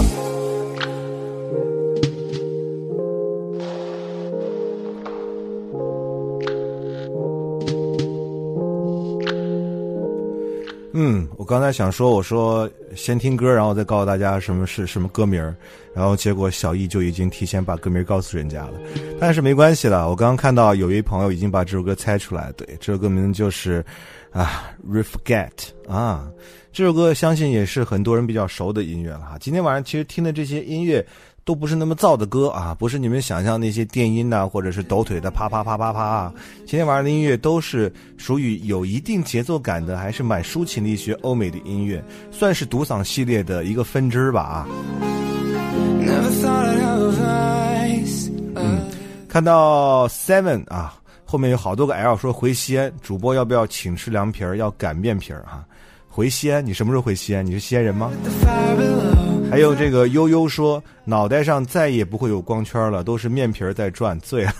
嗯，我刚才想说，我说先听歌，然后再告诉大家什么是什么歌名，然后结果小易就已经提前把歌名告诉人家了，但是没关系了。我刚刚看到有一位朋友已经把这首歌猜出来，对，这首歌名就是啊 Re-Forget 啊，这首歌相信也是很多人比较熟的音乐了哈。今天晚上其实听的这些音乐都不是那么燥的歌啊，不是你们想象那些电音呐、啊，或者是抖腿的啪啪啪啪啪啊。今天晚上的音乐都是属于有一定节奏感的，还是蛮抒情的一些欧美的音乐，算是独嗓系列的一个分支吧啊。嗯，看到 Seven 啊，后面有好多个 L 说回西安，主播要不要请吃凉皮儿？要擀面皮儿啊？回西安，你什么时候回西安？你是西安人吗？还有这个悠悠说，脑袋上再也不会有光圈了，都是面皮在转，醉了。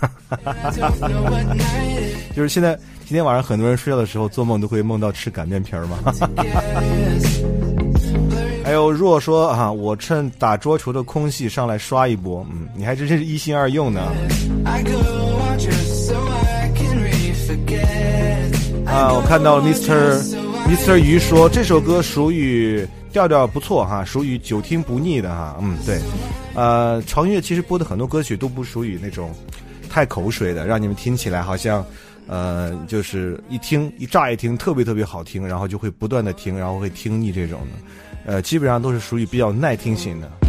就是现在今天晚上很多人睡觉的时候做梦都会梦到吃擀面皮嘛。还有若说啊，我趁打桌球的空隙上来刷一波，嗯，你还真是一心二用呢。啊，我看到了 Mister Mister 鱼说这首歌属于调调不错哈，属于久听不腻的哈。嗯，对，呃，潮音乐其实播的很多歌曲都不属于那种太口水的，让你们听起来好像呃就是一听一乍一听特别特别好听，然后就会不断的听，然后会听腻这种的，呃，基本上都是属于比较耐听型的。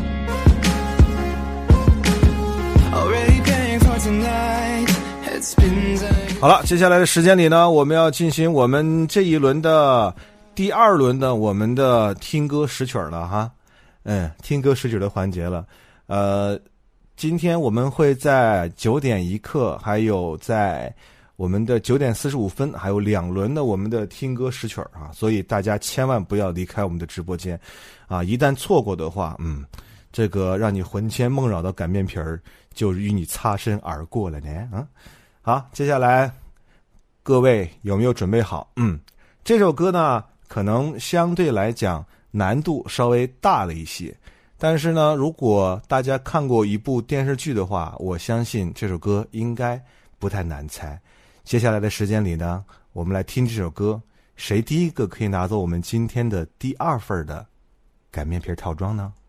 好了，接下来的时间里呢，我们要进行我们这一轮的第二轮的我们的听歌识曲了哈，嗯，听歌识曲的环节了。呃，今天我们会在九点一刻，还有在我们的九点四十五分，还有两轮的我们的听歌识曲啊，所以大家千万不要离开我们的直播间啊！一旦错过的话，嗯，这个让你魂牵梦绕的擀面皮儿就与你擦身而过了呢啊！好，接下来各位有没有准备好？嗯，这首歌呢可能相对来讲难度稍微大了一些，但是呢如果大家看过一部电视剧的话，我相信这首歌应该不太难猜。接下来的时间里呢，我们来听这首歌，谁第一个可以拿走我们今天的第二份的擀面皮套装呢？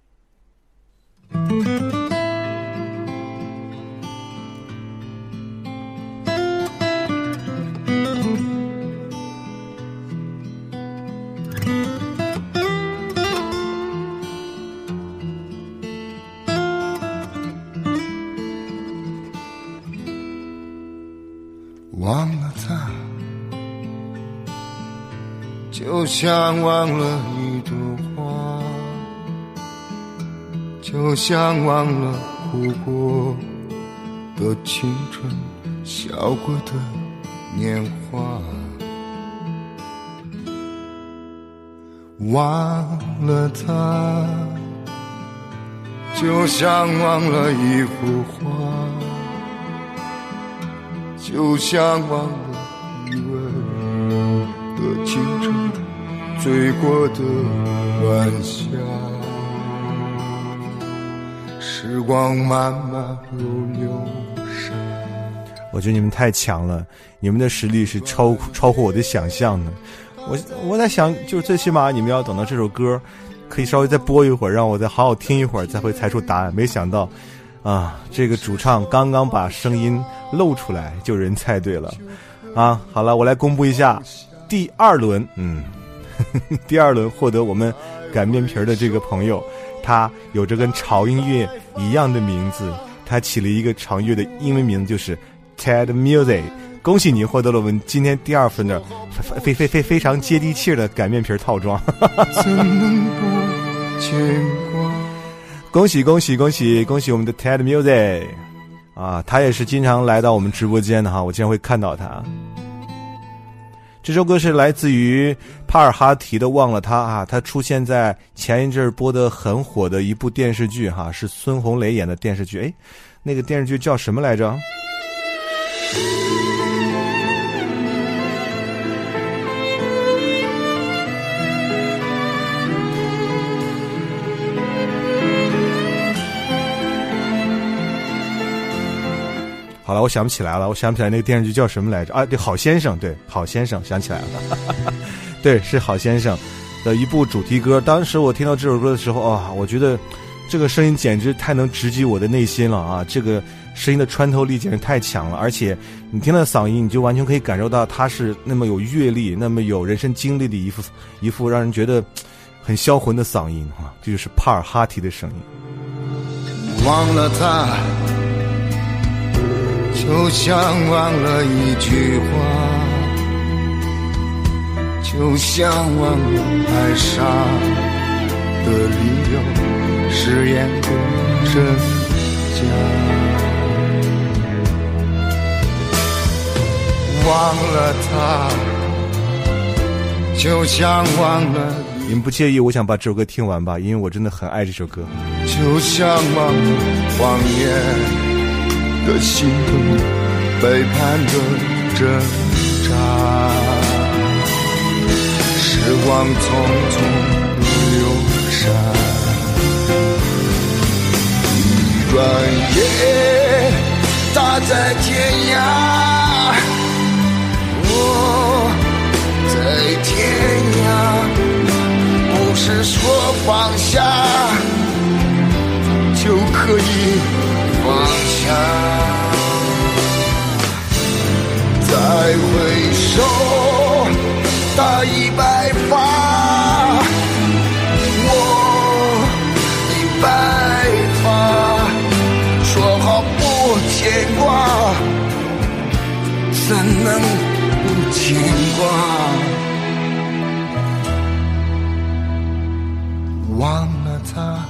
忘了他，就像忘了一朵花，就像忘了哭过的青春，笑过的年华。忘了他，就像忘了一幅画，就像忘了余温的青春，醉过的晚霞。时光慢慢如流沙。 我觉得你们太强了，你们的实力是超超乎我的想象的。我我在想，就是最起码你们要等到这首歌可以稍微再播一会儿，让我再好好听一会儿，再会猜出答案。没想到啊，这个主唱刚刚把声音露出来，就有人猜对了啊！好了，我来公布一下第二轮，嗯，呵呵第二轮获得我们擀面皮的这个朋友，他有着跟潮音乐一样的名字，他起了一个潮音乐的英文名，就是 Ted Music。恭喜你获得了我们今天第二份的非非非非常接地气的擀面皮套装。 怎能不牵挂？ 恭喜恭喜恭喜恭喜我们的 Ted Music 啊，他也是经常来到我们直播间的哈，我经常会看到他。这首歌是来自于帕尔哈提的《忘了他》啊，他出现在前一阵播的很火的一部电视剧哈，是孙红雷演的电视剧，诶，那个电视剧叫什么来着？好了，我想不起来了，我想不起来那个电视剧叫什么来着啊？对，好先生，对，好先生，想起来了，对，是好先生的一部主题歌。当时我听到这首歌的时候啊，我觉得这个声音简直太能直击我的内心了啊！这个声音的穿透力简直太强了，而且你听到嗓音，你就完全可以感受到他是那么有阅历、那么有人生经历的一副一副让人觉得很销魂的嗓音啊！这就是帕尔哈提的声音。 忘了他，就像忘了一句话，就像忘了爱上的理由，誓言的真假。忘了他，就像忘了。 你们不介意我想把这首歌听完吧，因为我真的很爱这首歌。 就像忘了谎言的心痛，背叛的挣扎，时光匆匆流逝，一转眼他在天涯，我在天涯，不是说放下就可以放下，再回首他已白发，我已白发，说好不牵挂，怎能不牵挂？忘了他，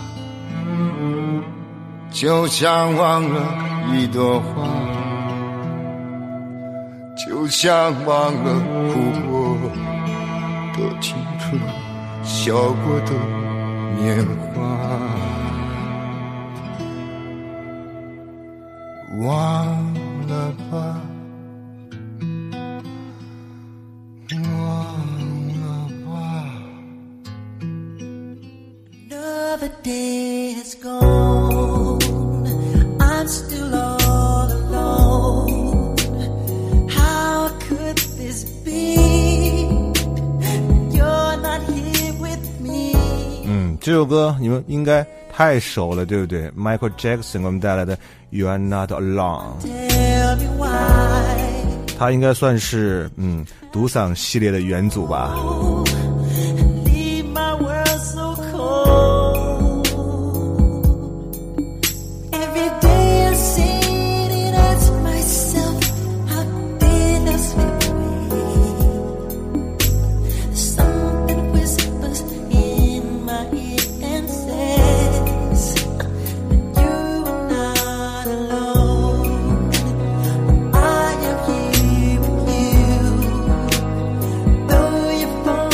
就像忘了一朵花，就像忘了哭过的青春，笑过的年华，忘了吧，忘了吧。 Another day has gone, I'm still all alone. How could this be? You're not here with me. 嗯，这首歌你们应该太熟了，对不对 ？Michael Jackson 给我们带来的 You Are Not Alone， 他应该算是嗯独嗓系列的元祖吧。 Phone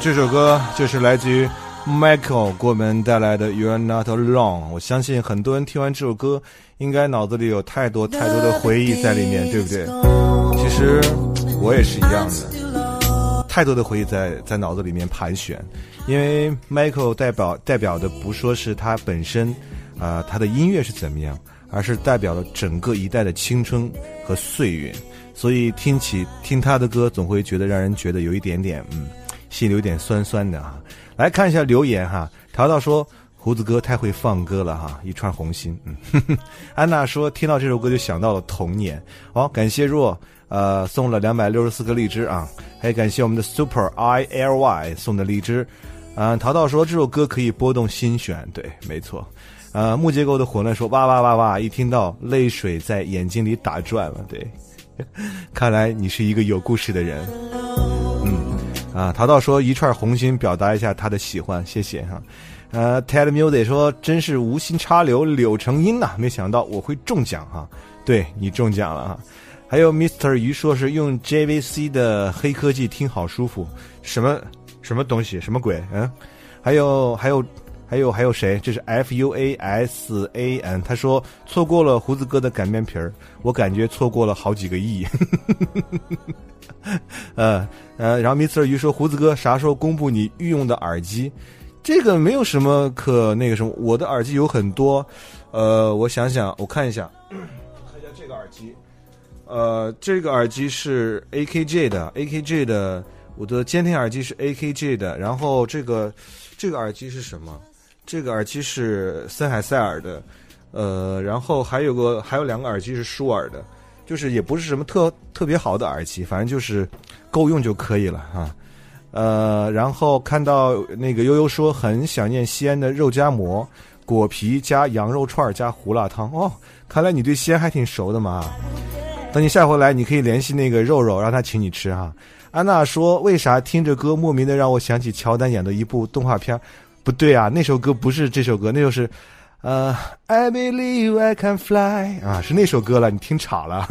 这首歌就是来自于 Michael 给我们带来的 You're Not Alone。 我相信很多人听完这首歌应该脑子里有太多太多的回忆在里面，对不对？其实我也是一样的，太多的回忆在在脑子里面盘旋。因为 Michael 代表代表的不说是他本身啊、呃，他的音乐是怎么样，而是代表了整个一代的青春和岁月。所以听起听他的歌总会觉得让人觉得有一点点嗯心里有点酸酸的哈。来看一下留言哈，淘淘说胡子哥太会放歌了哈，一串红心。嗯，呵呵安娜说听到这首歌就想到了童年。好、哦，感谢若呃送了两百六十四个荔枝啊，还感谢我们的 Super I L Y 送的荔枝。嗯、呃，淘淘说这首歌可以拨动心弦，对，没错。呃，木结构的混乱说哇哇哇哇，一听到泪水在眼睛里打转了，对。看来你是一个有故事的人。嗯啊，淘淘说一串红心表达一下他的喜欢，谢谢哈。呃 Ted Music 说真是无心插柳柳成荫呐、啊，没想到我会中奖哈。对，你中奖了哈。还有 Mister 鱼说是用 J V C 的黑科技听好舒服，什么什么东西什么鬼？嗯，还有还有还有还有谁？这是 F U A S A N， 他说错过了胡子哥的擀面皮儿，我感觉错过了好几个亿。呃呃，然后 Mister 鱼说胡子哥啥时候公布你御用的耳机？这个没有什么可那个什么，我的耳机有很多。呃，我想想，我看一下，看一下这个耳机。呃，这个耳机是 A K G 的 ，A K G 的，我的监听耳机是 A K G 的。然后这个这个耳机是什么？这个耳机是森海塞尔的，呃，然后还有个还有两个耳机是舒尔的，就是也不是什么特特别好的耳机，反正就是够用就可以了啊。呃，然后看到那个悠悠说很想念西安的肉夹馍、果皮加羊肉串加胡辣汤哦，看来你对西安还挺熟的嘛。等你下回来，你可以联系那个肉肉，让他请你吃哈。安娜说为啥听着歌莫名的让我想起乔丹演的一部动画片？不对啊，那首歌不是这首歌，那首是呃 I believe I can fly 啊，是那首歌了，你听岔了。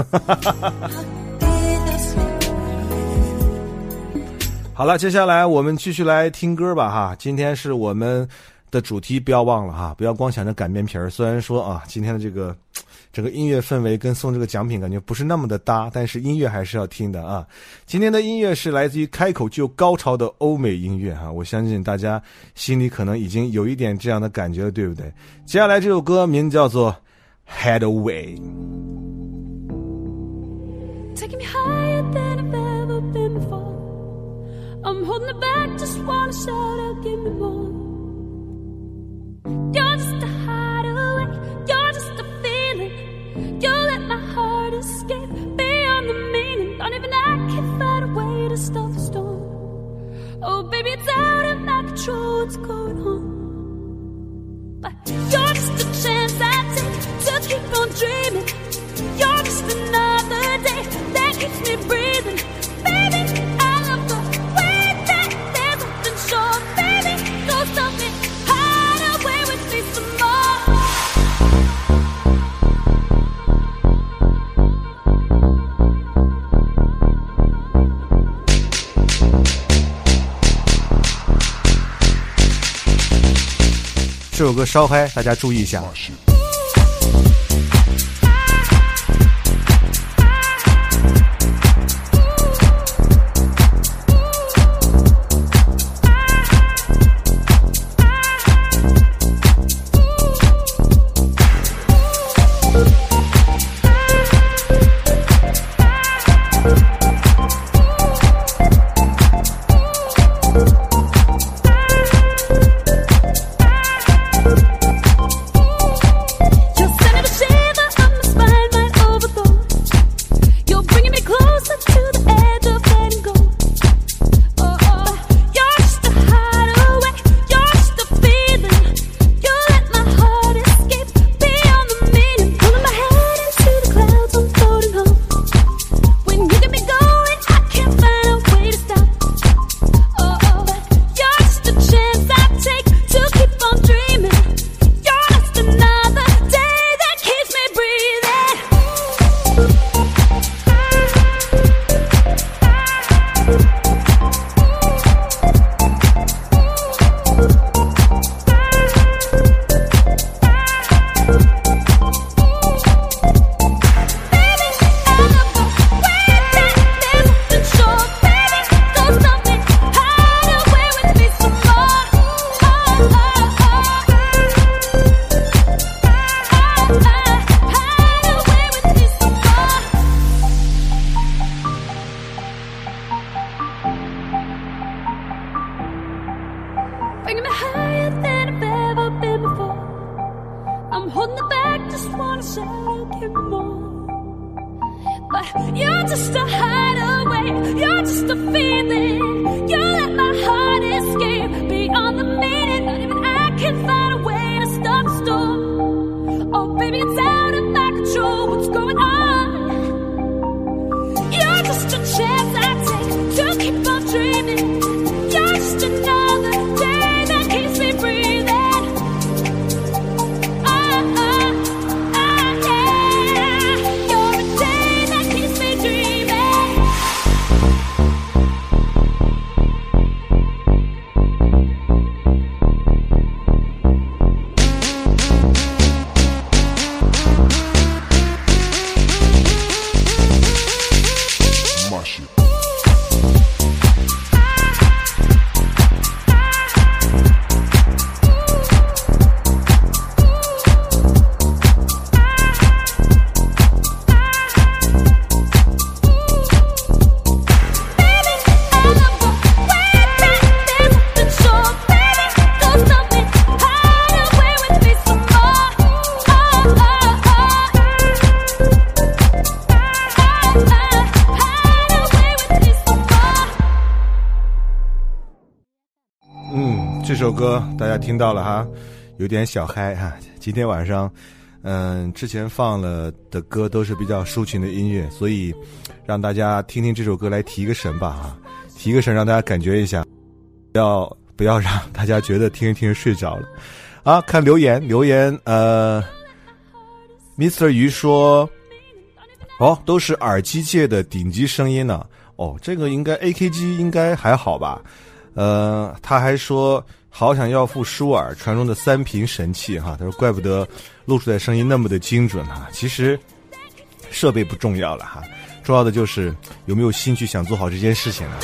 好了，接下来我们继续来听歌吧哈。今天是我们的主题，不要忘了哈，不要光想着擀面皮儿。虽然说啊，今天的这个整个音乐氛围跟送这个奖品感觉不是那么的搭，但是音乐还是要听的啊。今天的音乐是来自于开口就高潮的欧美音乐哈，我相信大家心里可能已经有一点这样的感觉了，对不对？接下来这首歌名叫做 Head Away。 Taking me higher than I've ever been before. I'm holding it back, just wanna shout out, give me more. You're just a hideaway, you're just a feeling. You let my heart escape beyond the meaning. Don't even I can find a way to stop the storm. Oh baby, it's out of my control, what's going on? But you're just a chance I take to keep on dreaming. You're just another day that keeps me breathing. Baby, I love the way that there's nothing short. Baby, don't stop me, hide away with me some more. 这首歌稍嗨，大家注意一下。 but you're just a hideaway. You're just a feeling. You let my heart escape beyond the meaning. Not even I can find a way to stop the storm. Oh, baby, it's out of my control. What's going on? You're just a chance I take to keep on dreaming. You're just another day that keeps me breathing. Oh, oh, oh, yeah. You're a day that keeps me dreaming. 这首歌大家听到了哈，有点小嗨哈。今天晚上，嗯，之前放了的歌都是比较抒情的音乐，所以让大家听听这首歌来提个神吧哈，提个神让大家感觉一下，不要不要让大家觉得听着听着睡着了啊。看留言，留言呃 ，Mister 鱼说，哦，都是耳机界的顶级声音呢、啊。哦，这个应该 A K G 应该还好吧？呃，他还说。好想要副舒尔传说中的三频神器哈，他说怪不得录出来声音那么的精准哈。其实设备不重要了哈，重要的就是有没有兴趣想做好这件事情呢。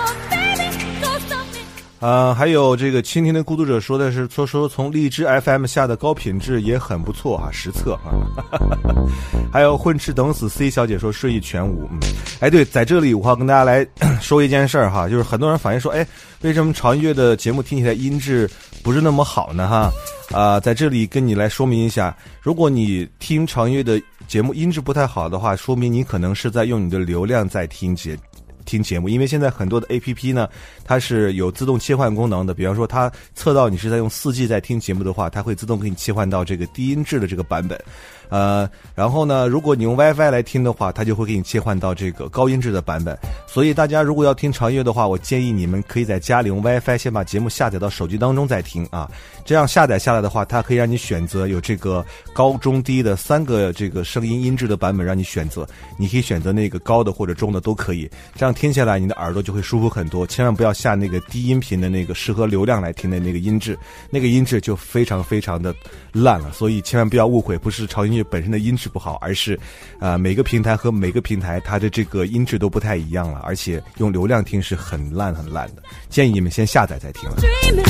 呃，还有这个倾听的孤独者说的是说说从荔枝 F M 下的高品质也很不错哈，实测哈。还有混吃等死 C 小姐说睡意全无，嗯，哎对，在这里我要跟大家来说一件事儿哈，就是很多人反映说，哎，为什么潮音乐的节目听起来音质不是那么好呢哈？啊、呃，在这里跟你来说明一下，如果你听潮音乐的节目音质不太好的话，说明你可能是在用你的流量在听节。听节目，因为现在很多的 A P P 呢，它是有自动切换功能的。比方说，它测到你是在用 四 G 在听节目的话，它会自动给你切换到这个低音质的这个版本。呃，然后呢，如果你用 WiFi 来听的话，它就会给你切换到这个高音质的版本。所以大家如果要听长乐的话，我建议你们可以在家里用 WiFi 先把节目下载到手机当中再听啊。这样下载下来的话，它可以让你选择有这个高中低的三个这个声音音质的版本让你选择，你可以选择那个高的或者中的都可以。这样听下来你的耳朵就会舒服很多。千万不要下那个低音频的那个适合流量来听的那个音质，那个音质就非常非常的烂了。所以千万不要误会，不是潮音乐本身的音质不好，而是啊、呃、每个平台和每个平台它的这个音质都不太一样了，而且用流量听是很烂很烂的。建议你们先下载再听了。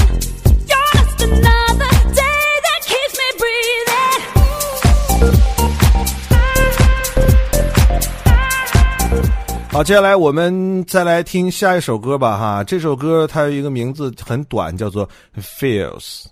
好，接下来我们再来听下一首歌吧哈。这首歌它有一个名字很短，叫做 Feels。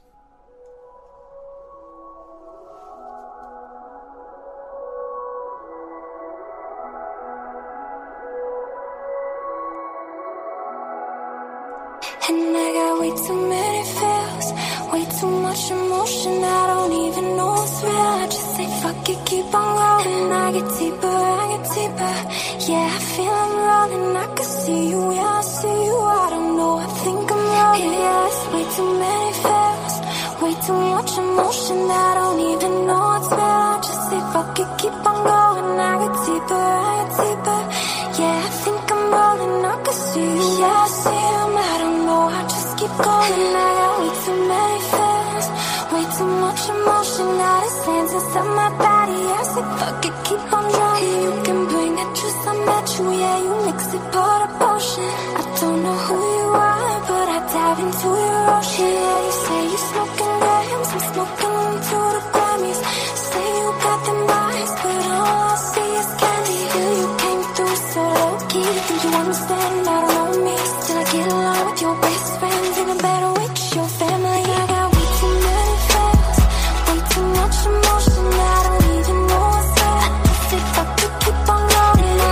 And I got way too many feels, way too much emotion, I don't even know what's real. I just say fuck it, keep on going. I get deeper, I get deeper. Yeah, I feel I'm rolling, I can see you, yeah, I see you. I don't know, I think I'm rolling. Yeah, it's way too many feels, way too much emotion, I don't even know what's real. I just say fuck it, keep on going. I get deeper, I get deeper. Yeah, I think I'm rolling, I can see you, yeah, I see you. I don't know, I just keep going. I got way too many feels, way too much emotion. All this lands inside my body. I say fuck it, keep on drowning. You can bring it, just I met you. Yeah, you mix it, pour the potion. I don't know who you are, but I dive into your ocean. Yeah, you say you smoking grams, I'm smoking into the Grammys. Say you got them eyes, but all I see is candy. Feel you came through so low key. Think you understand? I don't know me. Still I get along with your best friends, even better with your family. I got way too many feels, way too much emotion. I don't even know what's real. I say fuck it, keep on going. I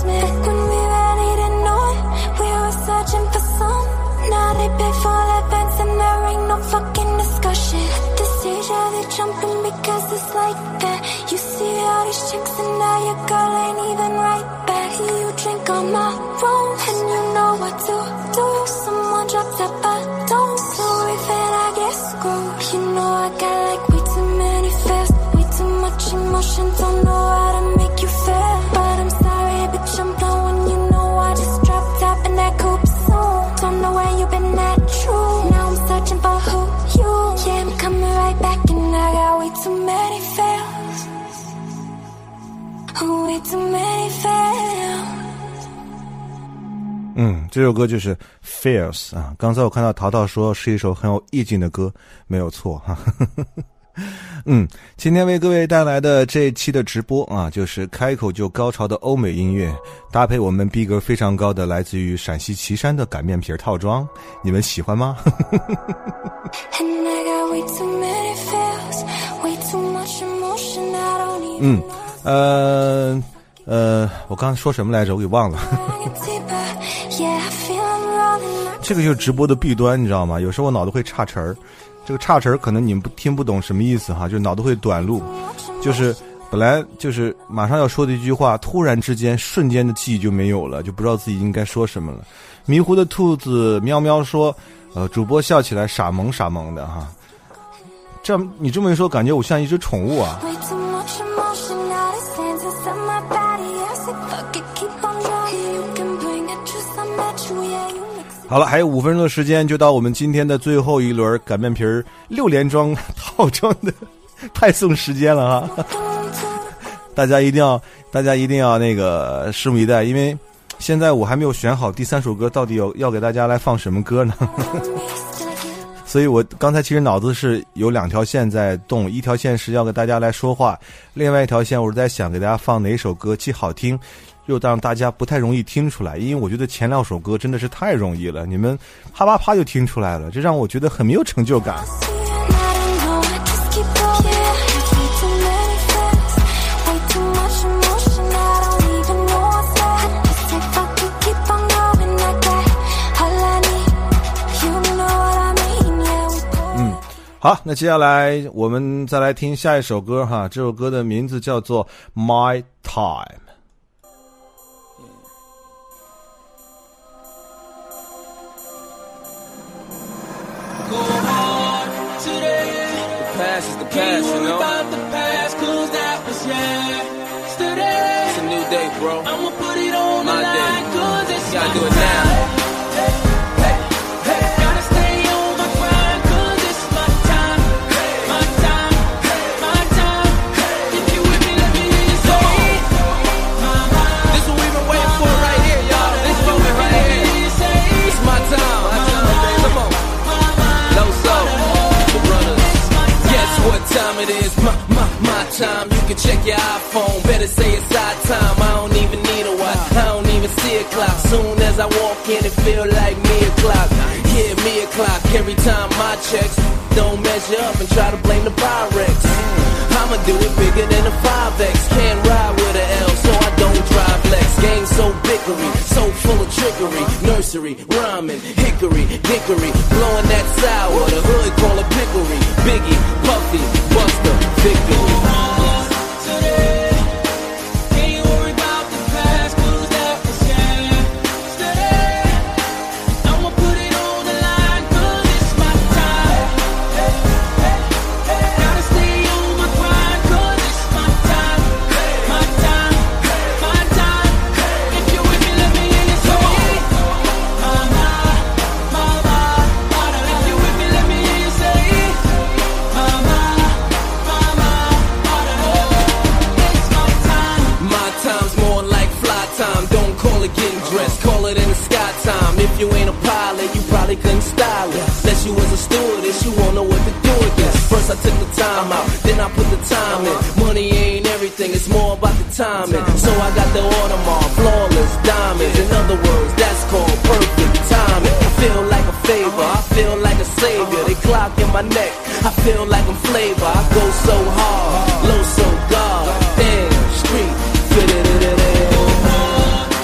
met when we really didn't know it. We were searching for some. Now they pay for events and there ain't no fucking discussion. At this age, yeah, they jumping because it's like that. You see all these chicks and now your girl ain't even right back. You drink on my room and you know what to do. Someone dropped that bottle, so if it I get screwed. You know I got like way too many fears, way too much emotion. Don't know how to make you feel, but I'm sorry, bitch, I'm blowing. You know I just dropped top in that coupe soon. Don't know where you been at, true. Now I'm searching for who you. Yeah, I'm coming right back and I got way too many fails, way too many fails. 嗯，这首歌就是 Fears 啊。刚才我看到淘淘说是一首很有意境的歌，没有错哈。嗯，今天为各位带来的这一期的直播啊，就是开口就高潮的欧美音乐，搭配我们逼格非常高的来自于陕西岐山的擀面皮套装，你们喜欢吗？嗯，呃呃，我刚才说什么来着？我给忘了。这个就是直播的弊端，你知道吗？有时候我脑子会岔词儿，这个岔词儿可能你们不听不懂什么意思哈，就脑子会短路，就是本来就是马上要说的一句话，突然之间瞬间的记忆就没有了，就不知道自己应该说什么了。迷糊的兔子喵喵说，呃，主播笑起来傻萌傻萌的哈。这样你这么一说，感觉我像一只宠物啊。好了，还有五分钟的时间就到我们今天的最后一轮擀面皮儿六连装套装的派送时间了哈。大家一定要大家一定要那个拭目以待，因为现在我还没有选好第三首歌到底有要给大家来放什么歌呢。所以我刚才其实脑子是有两条线在动，一条线是要给大家来说话，另外一条线我是在想给大家放哪首歌既好听又让大家不太容易听出来，因为我觉得前两首歌真的是太容易了，你们啪啪啪就听出来了，这让我觉得很没有成就感。嗯，好，那接下来我们再来听下一首歌哈，这首歌的名字叫做 My Time。 Past is the past, you know. About the past, cause that was yesterday. It's a new day, bro. I'ma put it on my day. Cause it's gotta do it now. Hey, hey, hey. Gotta stay on my grind, cause it's my time. My time, my time. If you with me, let me hear you say it. This what we've been waiting for right here, y'all. This moment right here. It's my time, my time, baby. Come on. Low soul, the runners. What time it is, my, my, my time. You can check your iPhone, better say it's our time. I don't even need a watch, I don't even see a clock. Soon as I walk in, it feel like me o'clock. Yeah, me o'clock, every time my checks don't measure up and try to blame the Pyrex. I'ma do it bigger than a five X. Can't ride with an L, so I don't drive Lex. Game so bickery, so full of trickery. Nursery, rhyming, hickory, dickory. Blowing that sour, the hood call it pickery. Biggie, Puffy, Buster, victory. If you ain't a pilot, you probably couldn't style it. Unless you was a stewardess, you won't know what to do with this. First I took the time out, then I put the time in. Money ain't everything, it's more about the timing. So I got the Audemars, flawless diamonds. In other words, that's called perfect timing. I feel like a favor, I feel like a savior. They clock in my neck, I feel like I'm flavor. I go so hard, low so God. Damn, street, fit it, it, it, it.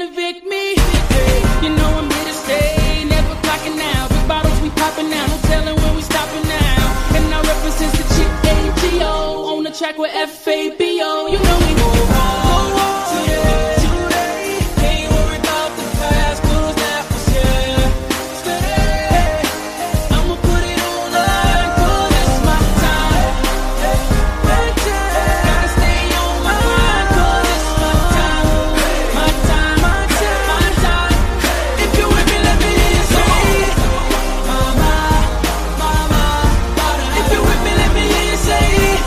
evict me. Hey, you know I'm here to stay, never clocking out. Big bottles we popping now, no telling when we stopping now. And I represent the chick A G O on the track with F A B O. You know we go hard today, today. Ain't worried about the past, 'cause that was yesterday. I'ma put it on the line, 'cause it's my time. My time. Gotta stay on my grind, 'cause it's my time. My time, my time, my time. If you with me, let me hear you say, mama, mama, mama. If you with me, let me hear you say,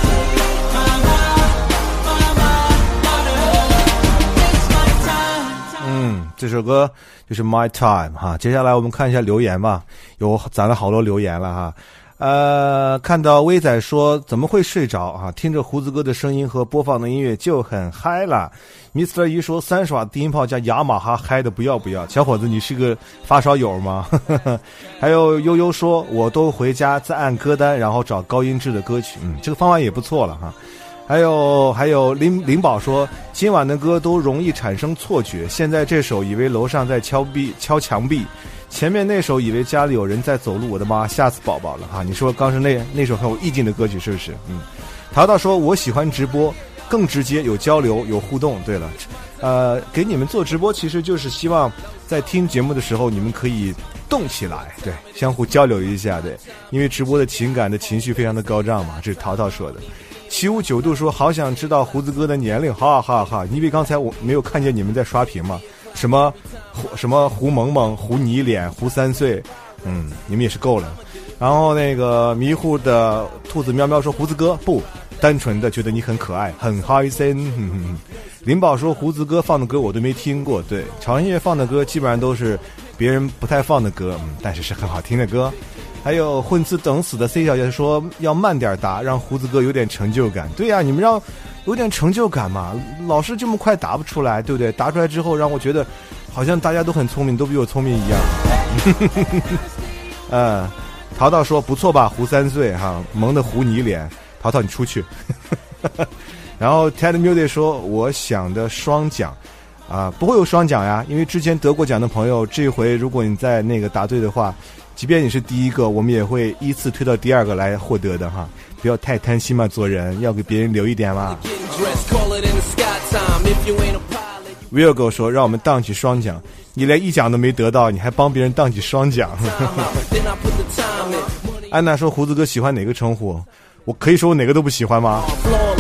mama, mama, mama. It's my time. 嗯，这首歌就是 My Time 哈。接下来我们看一下留言吧，有攒了好多留言了哈。呃，看到威仔说怎么会睡着啊？听着胡子哥的声音和播放的音乐就很嗨了。Mister 一说三十瓦低音炮加雅马哈嗨的不要不要，小伙子你是个发烧友吗？还有悠悠说我都回家再按歌单，然后找高音质的歌曲，嗯，这个方法也不错了哈。还有还有林林宝说今晚的歌都容易产生错觉，现在这首以为楼上在敲壁敲墙壁，前面那首以为家里有人在走路，我的妈，吓死宝宝了哈！你说刚是那那首很有意境的歌曲是不是？嗯，淘淘说我喜欢直播，更直接，有交流，有互动。对了，呃，给你们做直播其实就是希望在听节目的时候你们可以动起来，对，相互交流一下，对，因为直播的情感的情绪非常的高涨嘛，这是淘淘说的。七五九度说好想知道胡子哥的年龄，哈哈哈！因为刚才我没有看见你们在刷屏嘛，什么什么胡萌萌、胡泥脸、胡三岁，嗯，你们也是够了。然后那个迷糊的兔子喵喵说胡子哥不单纯的觉得你很可爱，很开心。哼哼林宝说胡子哥放的歌我都没听过，对，潮音乐放的歌基本上都是别人不太放的歌，嗯，但是是很好听的歌。还有混吃等死的 C 小姐说要慢点答，让胡子哥有点成就感。对呀、啊，你们让有点成就感嘛，老是这么快答不出来，对不对？答出来之后让我觉得好像大家都很聪明，都比我聪明一样。嗯，淘淘说不错吧，胡三岁哈，萌的胡泥脸，淘淘你出去。然后 Ted Music 说我想的双奖啊，不会有双奖呀，因为之前得过奖的朋友，这回如果你在那个答对的话，即便你是第一个，我们也会依次推到第二个来获得的哈，不要太贪心嘛，做人要给别人留一点嘛。Will 哥说让我们荡起双奖，你连一奖都没得到，你还帮别人荡起双奖。安娜说胡子哥喜欢哪个称呼？我可以说我哪个都不喜欢吗？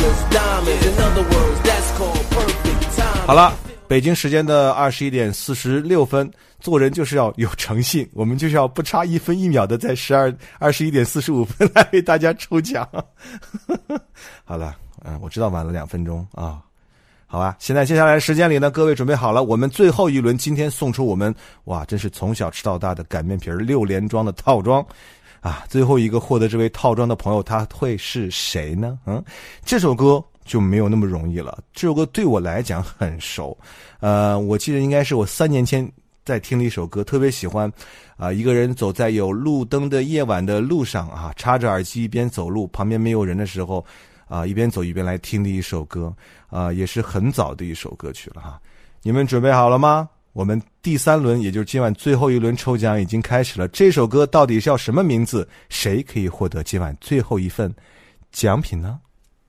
好了，北京时间的二十一点四十六分，做人就是要有诚信，我们就是要不差一分一秒的在十二二十一点四十五分来为大家抽奖。好了，嗯，我知道晚了两分钟啊，好吧。现在接下来的时间里呢，各位准备好了，我们最后一轮今天送出我们哇，真是从小吃到大的擀面皮六连装的套装。啊，最后一个获得这位套装的朋友他会是谁呢？嗯，这首歌就没有那么容易了。这首歌对我来讲很熟，呃，我记得应该是我三年前在听了一首歌，特别喜欢，啊、呃，一个人走在有路灯的夜晚的路上啊，插着耳机一边走路，旁边没有人的时候，啊、呃，一边走一边来听的一首歌，啊、呃，也是很早的一首歌曲了哈。你们准备好了吗？我们第三轮，也就是今晚最后一轮抽奖已经开始了。这首歌到底叫什么名字？谁可以获得今晚最后一份奖品呢？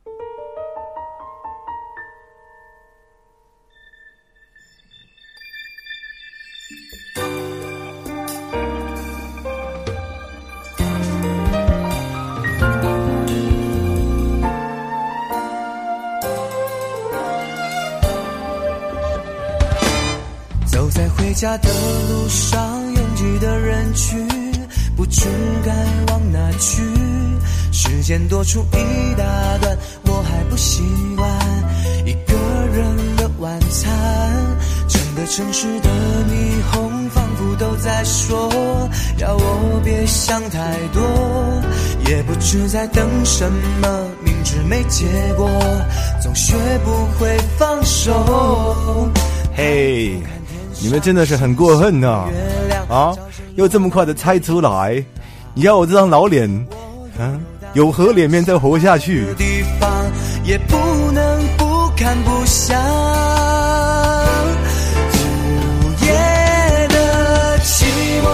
回家的路上，拥挤的人群，不知该往哪去。时间多出一大段，我还不习惯一个人的晚餐。整个城市的霓虹仿佛都在说，要我别想太多。也不知在等什么，明知没结果，总学不会放手。 嘿、hey.你们真的是很过分呐、啊！啊，又这么快的猜出来，你要我这张老脸，啊，有何脸面再活下去？ 地方也不能不看不想，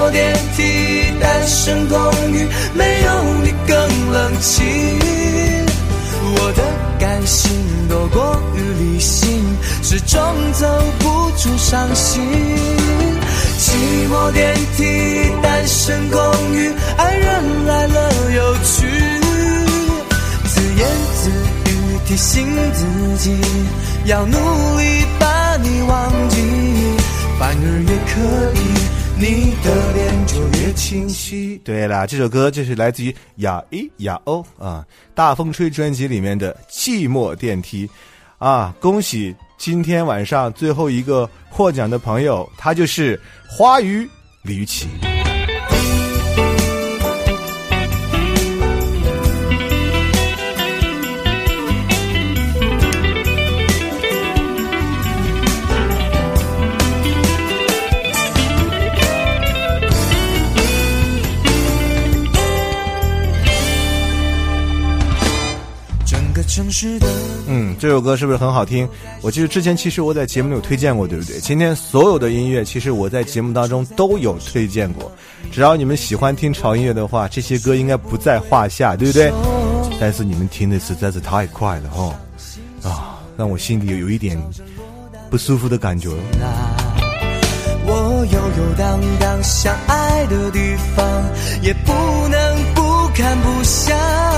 寞电梯，单身公寓，没有你更冷清。我的感性多过于理性，始终走不出伤心。寂寞电梯，单身公寓，爱人来了有趣，自言自语提醒自己，要努力把你忘记，反而越刻意，你的脸就越清晰。 对了，这首歌就是来自于雅一雅欧啊，大风吹专辑里面的寂寞电梯啊，恭喜今天晚上最后一个获奖的朋友，他就是花语李玉琦。 城市的嗯，这首歌是不是很好听？我记得之前其实我在节目里有推荐过，对不对？今天所有的音乐其实我在节目当中都有推荐过，只要你们喜欢听潮音乐的话，这些歌应该不在话下，对不对？但是你们听的实在是太快了哦，啊，让我心里有一点不舒服的感觉。 我悠悠荡荡相爱的地方，也不能不看不想。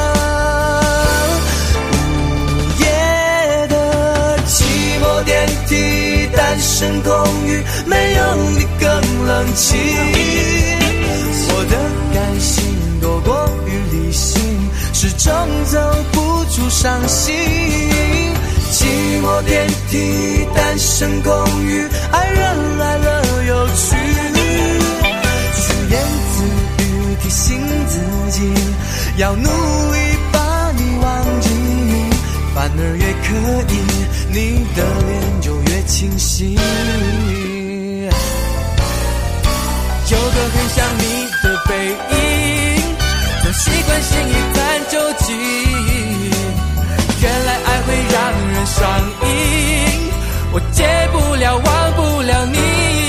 电梯，单身公寓，没有你更冷清。我的感性多过于理性，始终走不出伤心。寂寞电梯，单身公寓，爱人来了有趣，自言自语提醒自己，要努力把你忘记，反而越刻意，你的脸就越清晰。 有个很像你的背影，总习惯性一探究竟，原来爱会让人上瘾，我戒不了忘不了你。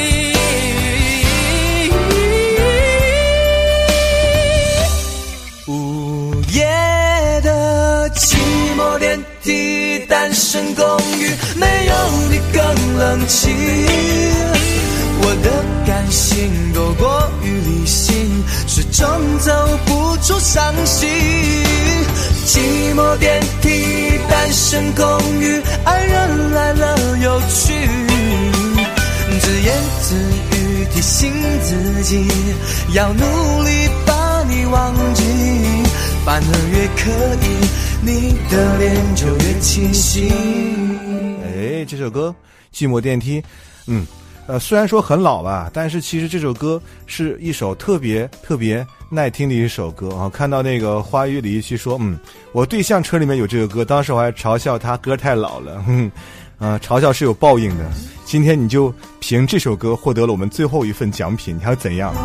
午夜的寂寞电梯，单身公寓，没有你更冷清。我的感性多过于理性，始终走不出伤心。寂寞电梯，单身公寓，爱人来了有趣，自言自语提醒自己，要努力把你忘记，反而越刻意，你的脸就越清晰。 哎，这首歌《寂寞电梯》，嗯，呃，虽然说很老吧，但是其实这首歌是一首特别特别耐听的一首歌啊。看到那个花语李玉琦说，嗯，我对象车里面有这个歌，当时我还嘲笑他歌太老了，哼，啊，嘲笑是有报应的。今天你就凭这首歌获得了我们最后一份奖品，你还要怎样？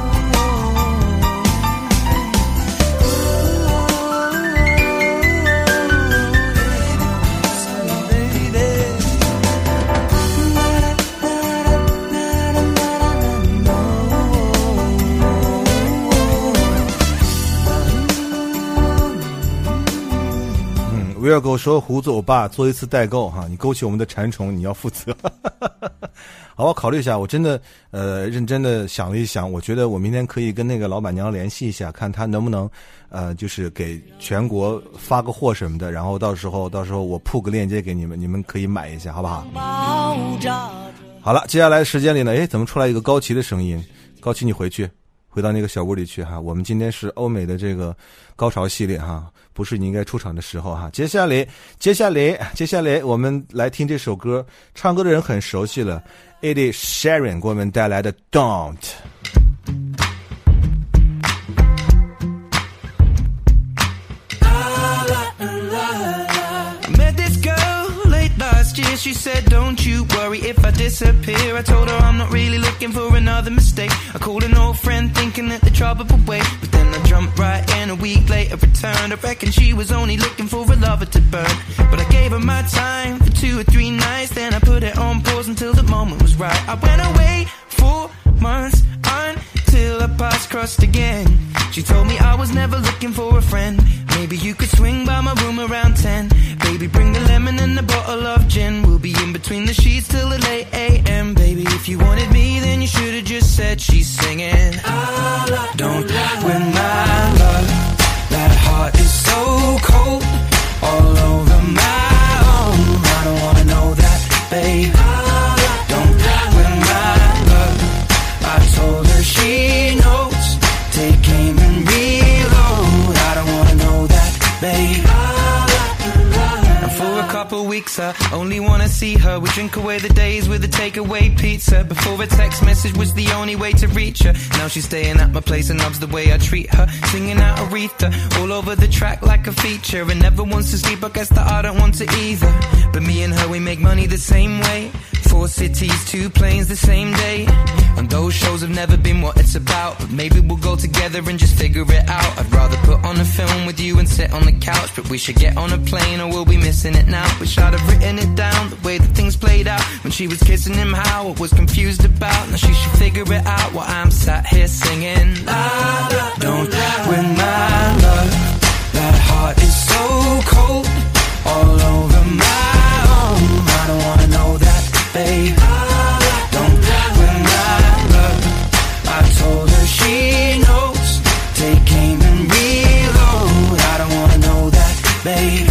不要给我说胡子欧巴做一次代购哈，你勾起我们的馋虫，你要负责。好，我考虑一下，我真的呃认真的想了一想，我觉得我明天可以跟那个老板娘联系一下，看她能不能呃就是给全国发个货什么的，然后到时候到时候我铺个链接给你们，你们可以买一下，好不好？好了，接下来时间里呢，诶，怎么出来一个高旗的声音？高旗，你回去。回到那个小屋里去哈，我们今天是欧美的这个高潮系列哈，不是你应该出场的时候哈。接下来，接下来，接下来，我们来听这首歌，唱歌的人很熟悉了 ，Ed Sheeran 给我们带来的 Don't。 She said, don't you worry if I disappear. I told her I'm not really looking for another mistake. I called an old friend thinking that the trouble would wait, but then I jumped right in. A week later returned. I reckon she was only looking for a lover to burn, but I gave her my time for two or three nights. Then I put it on pause until the moment was right. I went away for months until our paths crossed again. She told me I was never looking for a friend. Maybe you could swing by my room around ten. Baby, bring the lemon and a bottle of gin. We'll be in between the sheets till the late a m. Baby, if you wanted me, then you should have just said she's singing. Don't win my love. That heart is so cold, all over my own. I don't wanna know that, babe. Don't win my love. I told her she knows. Take aim and reload. I don't wanna know that, babe. And for a couple weeks I only wanna see her. We drink away the days with a takeaway pizza. Before a text message was the only way to reach her. Now she's staying at my place and loves the way I treat her. Singing out Aretha all over the track like a feature. And never wants to sleep, I guess that I don't want to either. But me and her, we make money the same way. Four cities, two planes the same day. And those shows have never been what it's about. But maybe we'll go together and just figure it out. I'd rather put on a film with you and sit on the couch. But we should get on a plane or we'll be missing it now. Wish I'd have written it down, the way that things played out. When she was kissing him, how I was confused about. Now she should figure it out while I'm sat here singing. La, la, don't win my love. That heart is so cold, all over my own. I don't wanna know that, babe. Don't win my love. I told her she knows. Take aim and reload. I don't wanna know that, babe.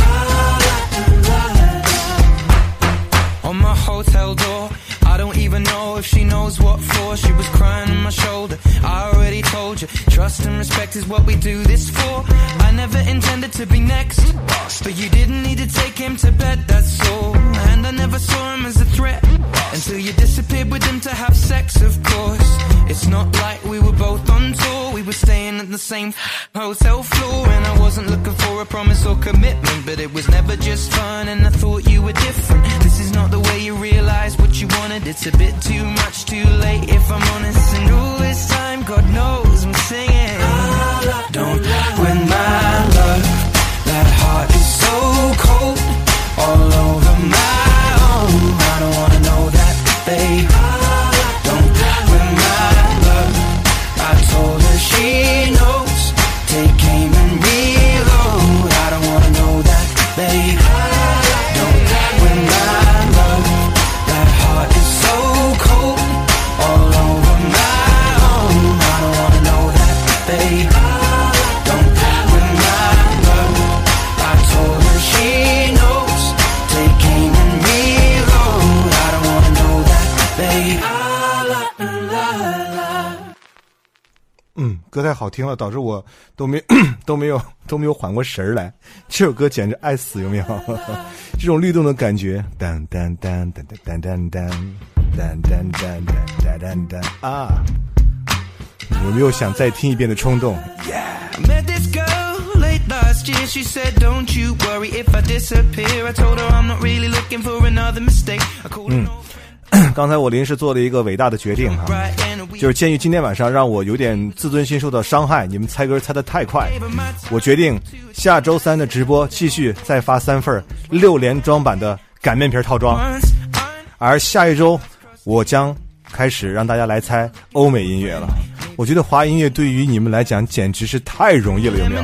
On my hotel door, I don't even know if she knows what for. She was crying on my shoulder. I already told you, trust and respect is what we do this for. I never intended to be next, but you didn't need to take him to bed, that's all. And I never saw him as a threat until you disappeared with him to have sex, of course. It's not like we were both on tour. We were staying at the same hotel floor. And I wasn't looking for a promise or commitment, but it was never just fun and I thought you were different. This is not the way you realize what you wanted. It's a bit too much too late if I'm honest. And all this time, God knows I'm singing. Don't win my love. That heart is so cold, all over my own. I don't wanna know that, babe. Don't win my love. I told her she knows. Take aim and reload. I don't wanna know that, babe. Don't win my love. That heart is so cold, all over my own. I don't wanna know that, babe. Don't win my love. I told her she knows. Take aim and reload. I don't wanna know that, babe. 嗯，歌太好听了，导致我都没都没有都没有缓过神来。这首歌简直爱死，有没有？这种律动的感觉，当当当当当当当当当当当当当啊！有没有想再听一遍的冲动 ？I met this girl late last year. She said, "Don't you worry if I disappear." I told her I'm not really looking for another mistake. I called her. 刚才我临时做了一个伟大的决定哈，就是鉴于今天晚上让我有点自尊心受到伤害，你们猜歌猜得太快，我决定下周三的直播继续再发三份六连装版的擀面皮套装，而下一周我将开始让大家来猜欧美音乐了。我觉得华音乐对于你们来讲简直是太容易了，有没有？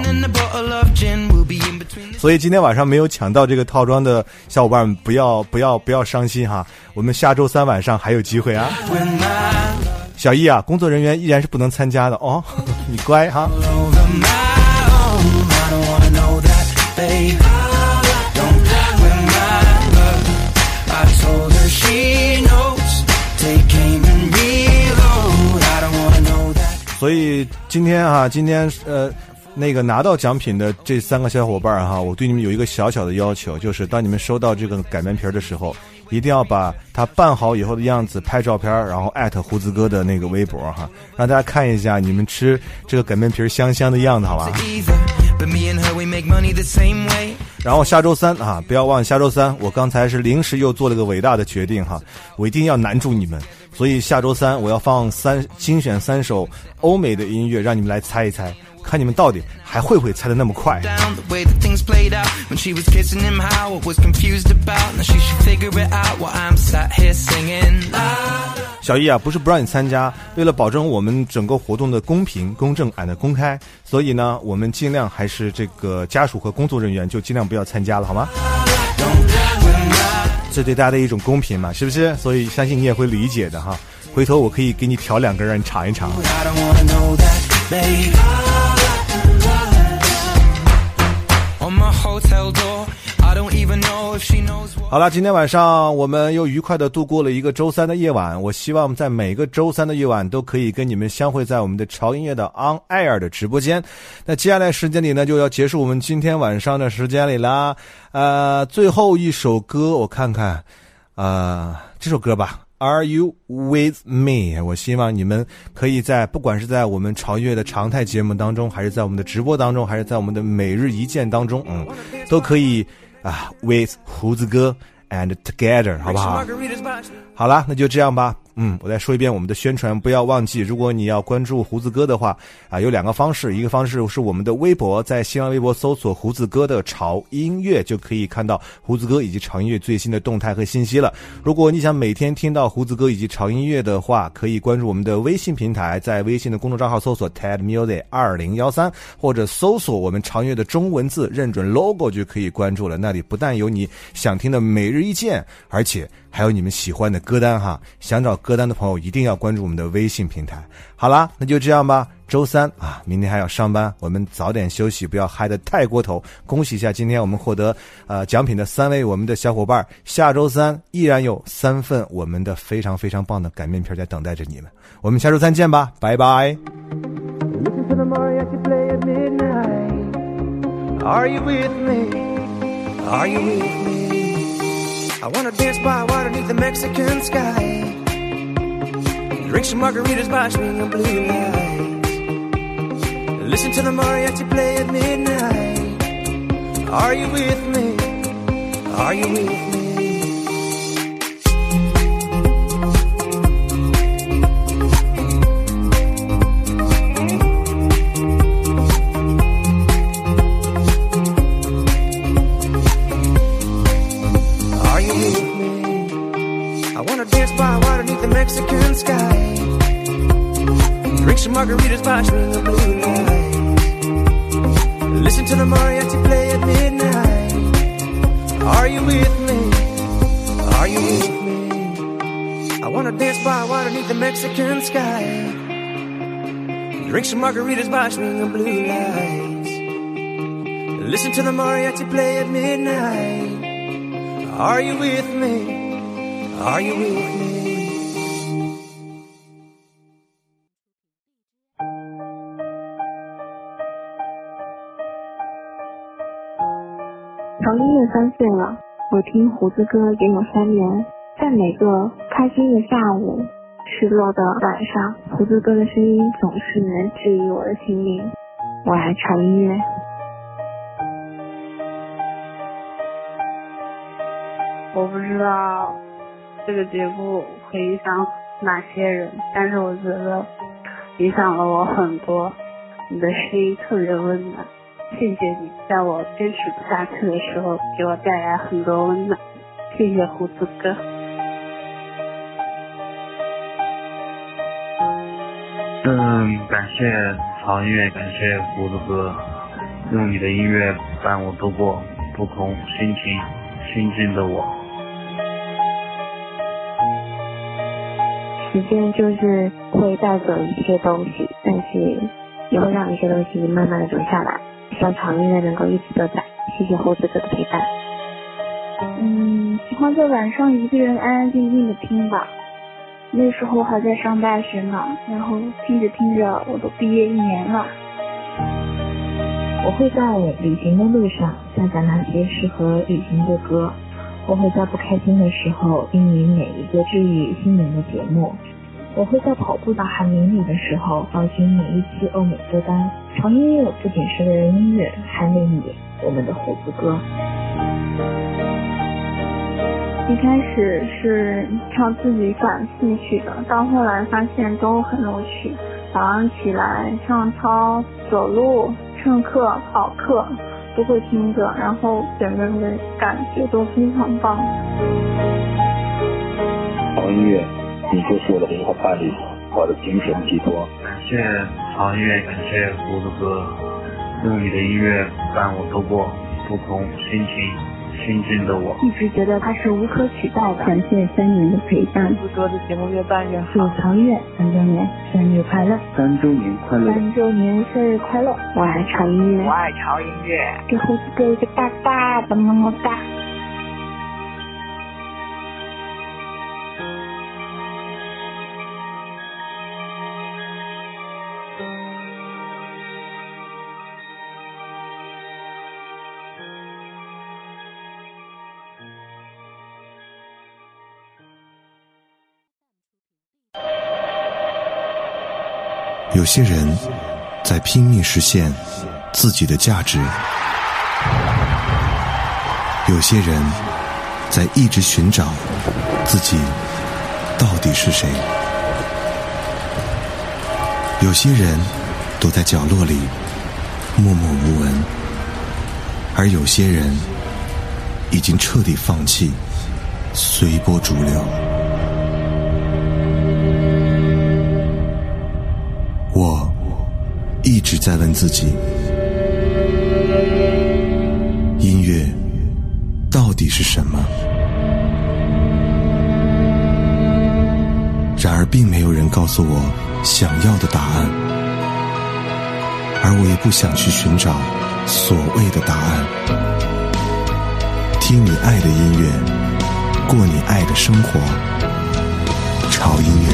所以今天晚上没有抢到这个套装的小伙伴不要不要不要伤心哈，我们下周三晚上还有机会啊。小易啊，工作人员依然是不能参加的哦，你乖哈。所以今天啊，今天呃，那个拿到奖品的这三个小伙伴哈，我对你们有一个小小的要求，就是当你们收到这个擀面皮的时候，一定要把它拌好以后的样子拍照片，然后艾特胡子哥的那个微博哈，让大家看一下你们吃这个擀面皮香香的样子，好吧？然后下周三啊，不要忘了下周三，我刚才是临时又做了个伟大的决定哈，我一定要难住你们，所以下周三我要放三精选三首欧美的音乐，让你们来猜一猜， 看你们到底还会不会猜得那么快。小易啊，不是不让你参加，为了保证我们整个活动的公平、公正俺的公开，所以呢，我们尽量还是这个家属和工作人员就尽量不要参加了，好吗？这对大家的一种公平嘛，是不是？所以相信你也会理解的哈。回头我可以给你调两个让你尝一尝。好了，今天晚上我们又愉快的度过了一个周三的夜晚，我希望在每个周三的夜晚都可以跟你们相会在我们的潮音乐的 On Air 的直播间。那接下来时间里呢，就要结束我们今天晚上的时间里啦。呃，最后一首歌我看看，呃，这首歌吧。Are you with me？ 我希望你们可以在不管是在我们潮音乐的常态节目当中，还是在我们的直播当中，还是在我们的每日一见当中，嗯，都可以啊 with 胡子哥 and together， 好不好？好啦，那就这样吧。嗯，我再说一遍我们的宣传，不要忘记，如果你要关注胡子哥的话啊，有两个方式，一个方式是我们的微博，在新浪微博搜索胡子哥的潮音乐，就可以看到胡子哥以及潮音乐最新的动态和信息了。如果你想每天听到胡子哥以及潮音乐的话，可以关注我们的微信平台，在微信的公众账号搜索 Ted Music 二零一三，或者搜索我们潮音乐的中文字，认准 logo 就可以关注了。那里不但有你想听的每日一见，而且还有你们喜欢的歌单哈，想找歌单的朋友一定要关注我们的微信平台。好啦，那就这样吧。周三啊，明天还要上班，我们早点休息，不要嗨得太过头。恭喜一下，今天我们获得呃奖品的三位我们的小伙伴，下周三依然有三份我们的非常非常棒的擀面皮在等待着你们。我们下周三见吧，拜拜。 Are you with me? Are you with me? I wanna dance by water beneath the Mexican sky. Drink some margaritas by swinging blue lights. Listen to the mariachi play at midnight. Are you with me? Are you with me? Mexican sky. Drink some margaritas by swinging blue lights. Listen to the mariachi play at midnight. Are you with me? Are you with me? I wanna dance by water beneath the Mexican sky. Drink some margaritas by swinging blue lights. Listen to the mariachi play at midnight. Are you with me? Are you with me? 潮音乐三岁了，我听胡子歌也有三年，在每个开心的下午，失落的晚上，胡子歌的声音总是能治愈我的心灵。我爱潮音乐。 我不知道这个节目会影响哪些人，但是我觉得影响了我很多。你的声音特别温暖，谢谢你在我坚持不下去的时候给我带来很多温暖，谢谢胡子哥。 嗯，感谢潮音乐，感谢胡子哥，用你的音乐伴我度过不同心情心境的我。 时间就是会带走一些东西，但是也会让一些东西慢慢的留下来。希望潮音乐能够一直都在，谢谢胡子哥的陪伴。 嗯，喜欢在晚上一个人安安静静的听吧。那时候还在上大学呢，然后听着听着我都毕业一年了。 我会在旅行的路上下载那些适合旅行的歌，我会在不开心的时候听你每一个治愈心灵的节目，我会在跑步到寒林里的时候找寻每一期欧美歌单。潮音乐不仅是个人音乐，还令你我们的胡子歌。 一开始是唱自己感兴趣的，到后来发现都很有趣， 早上起来上操、走路、上课、跑课都会听着，然后整个人的感觉都非常棒。 潮音乐，你就是我的灵魂伴侣，我的精神寄托。 感谢潮音乐，感谢胡子哥，用你的音乐伴我度过不同心情心境的我， 一直觉得他是无可取代的。感谢三年的陪伴， 胡子哥的节目越办越好。 祝潮音乐三周年生日快乐！ 三周年快乐！ 三周年生日快乐！我爱潮音乐， 我爱潮音乐， 给胡子哥一个大大的么么哒。 有些人在拼命实现自己的价值，有些人在一直寻找自己到底是谁，有些人躲在角落里默默无闻，而有些人已经彻底放弃，随波逐流。我一直在问自己，音乐到底是什么？然而并没有人告诉我想要的答案，而我也不想去寻找所谓的答案。听你爱的音乐，过你爱的生活，潮音乐。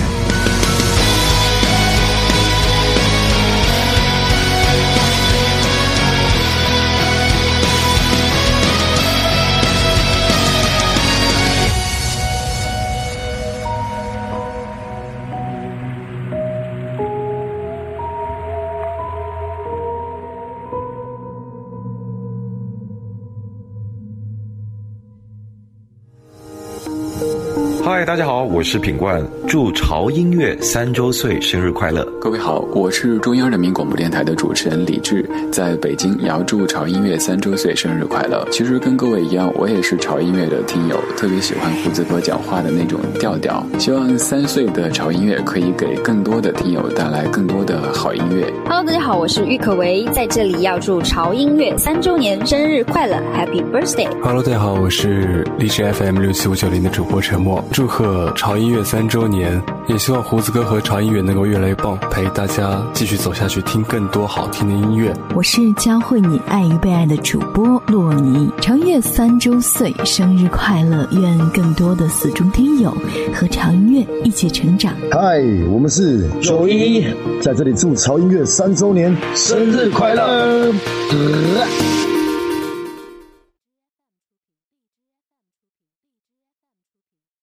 嗨，大家好，我是品冠，祝潮音乐三周岁生日快乐！ 各位好，我是中央人民广播电台的主持人李志，在北京也要祝潮音乐三周岁生日快乐。其实跟各位一样，我也是潮音乐的听友，特别喜欢胡子哥讲话的那种调调。希望三岁的潮音乐可以给更多的听友带来更多的好音乐。 Hello， 大家好，我是郁可唯，在这里要祝潮音乐三周年生日快乐 ，Happy Birthday！Hello， 大家好，我是荔枝 F M 六七五九零的主播陈默，祝贺潮音乐三周年，也希望胡子哥和潮音乐能够越来越棒，陪大家继续走下去，听更多好听的音乐。 我是教会你爱与被爱的主播洛尼，潮音乐三周岁生日快乐，愿更多的死忠听友和潮音乐一起成长。 嗨，我们是九一，在这里祝潮音乐三周年生日快乐。呃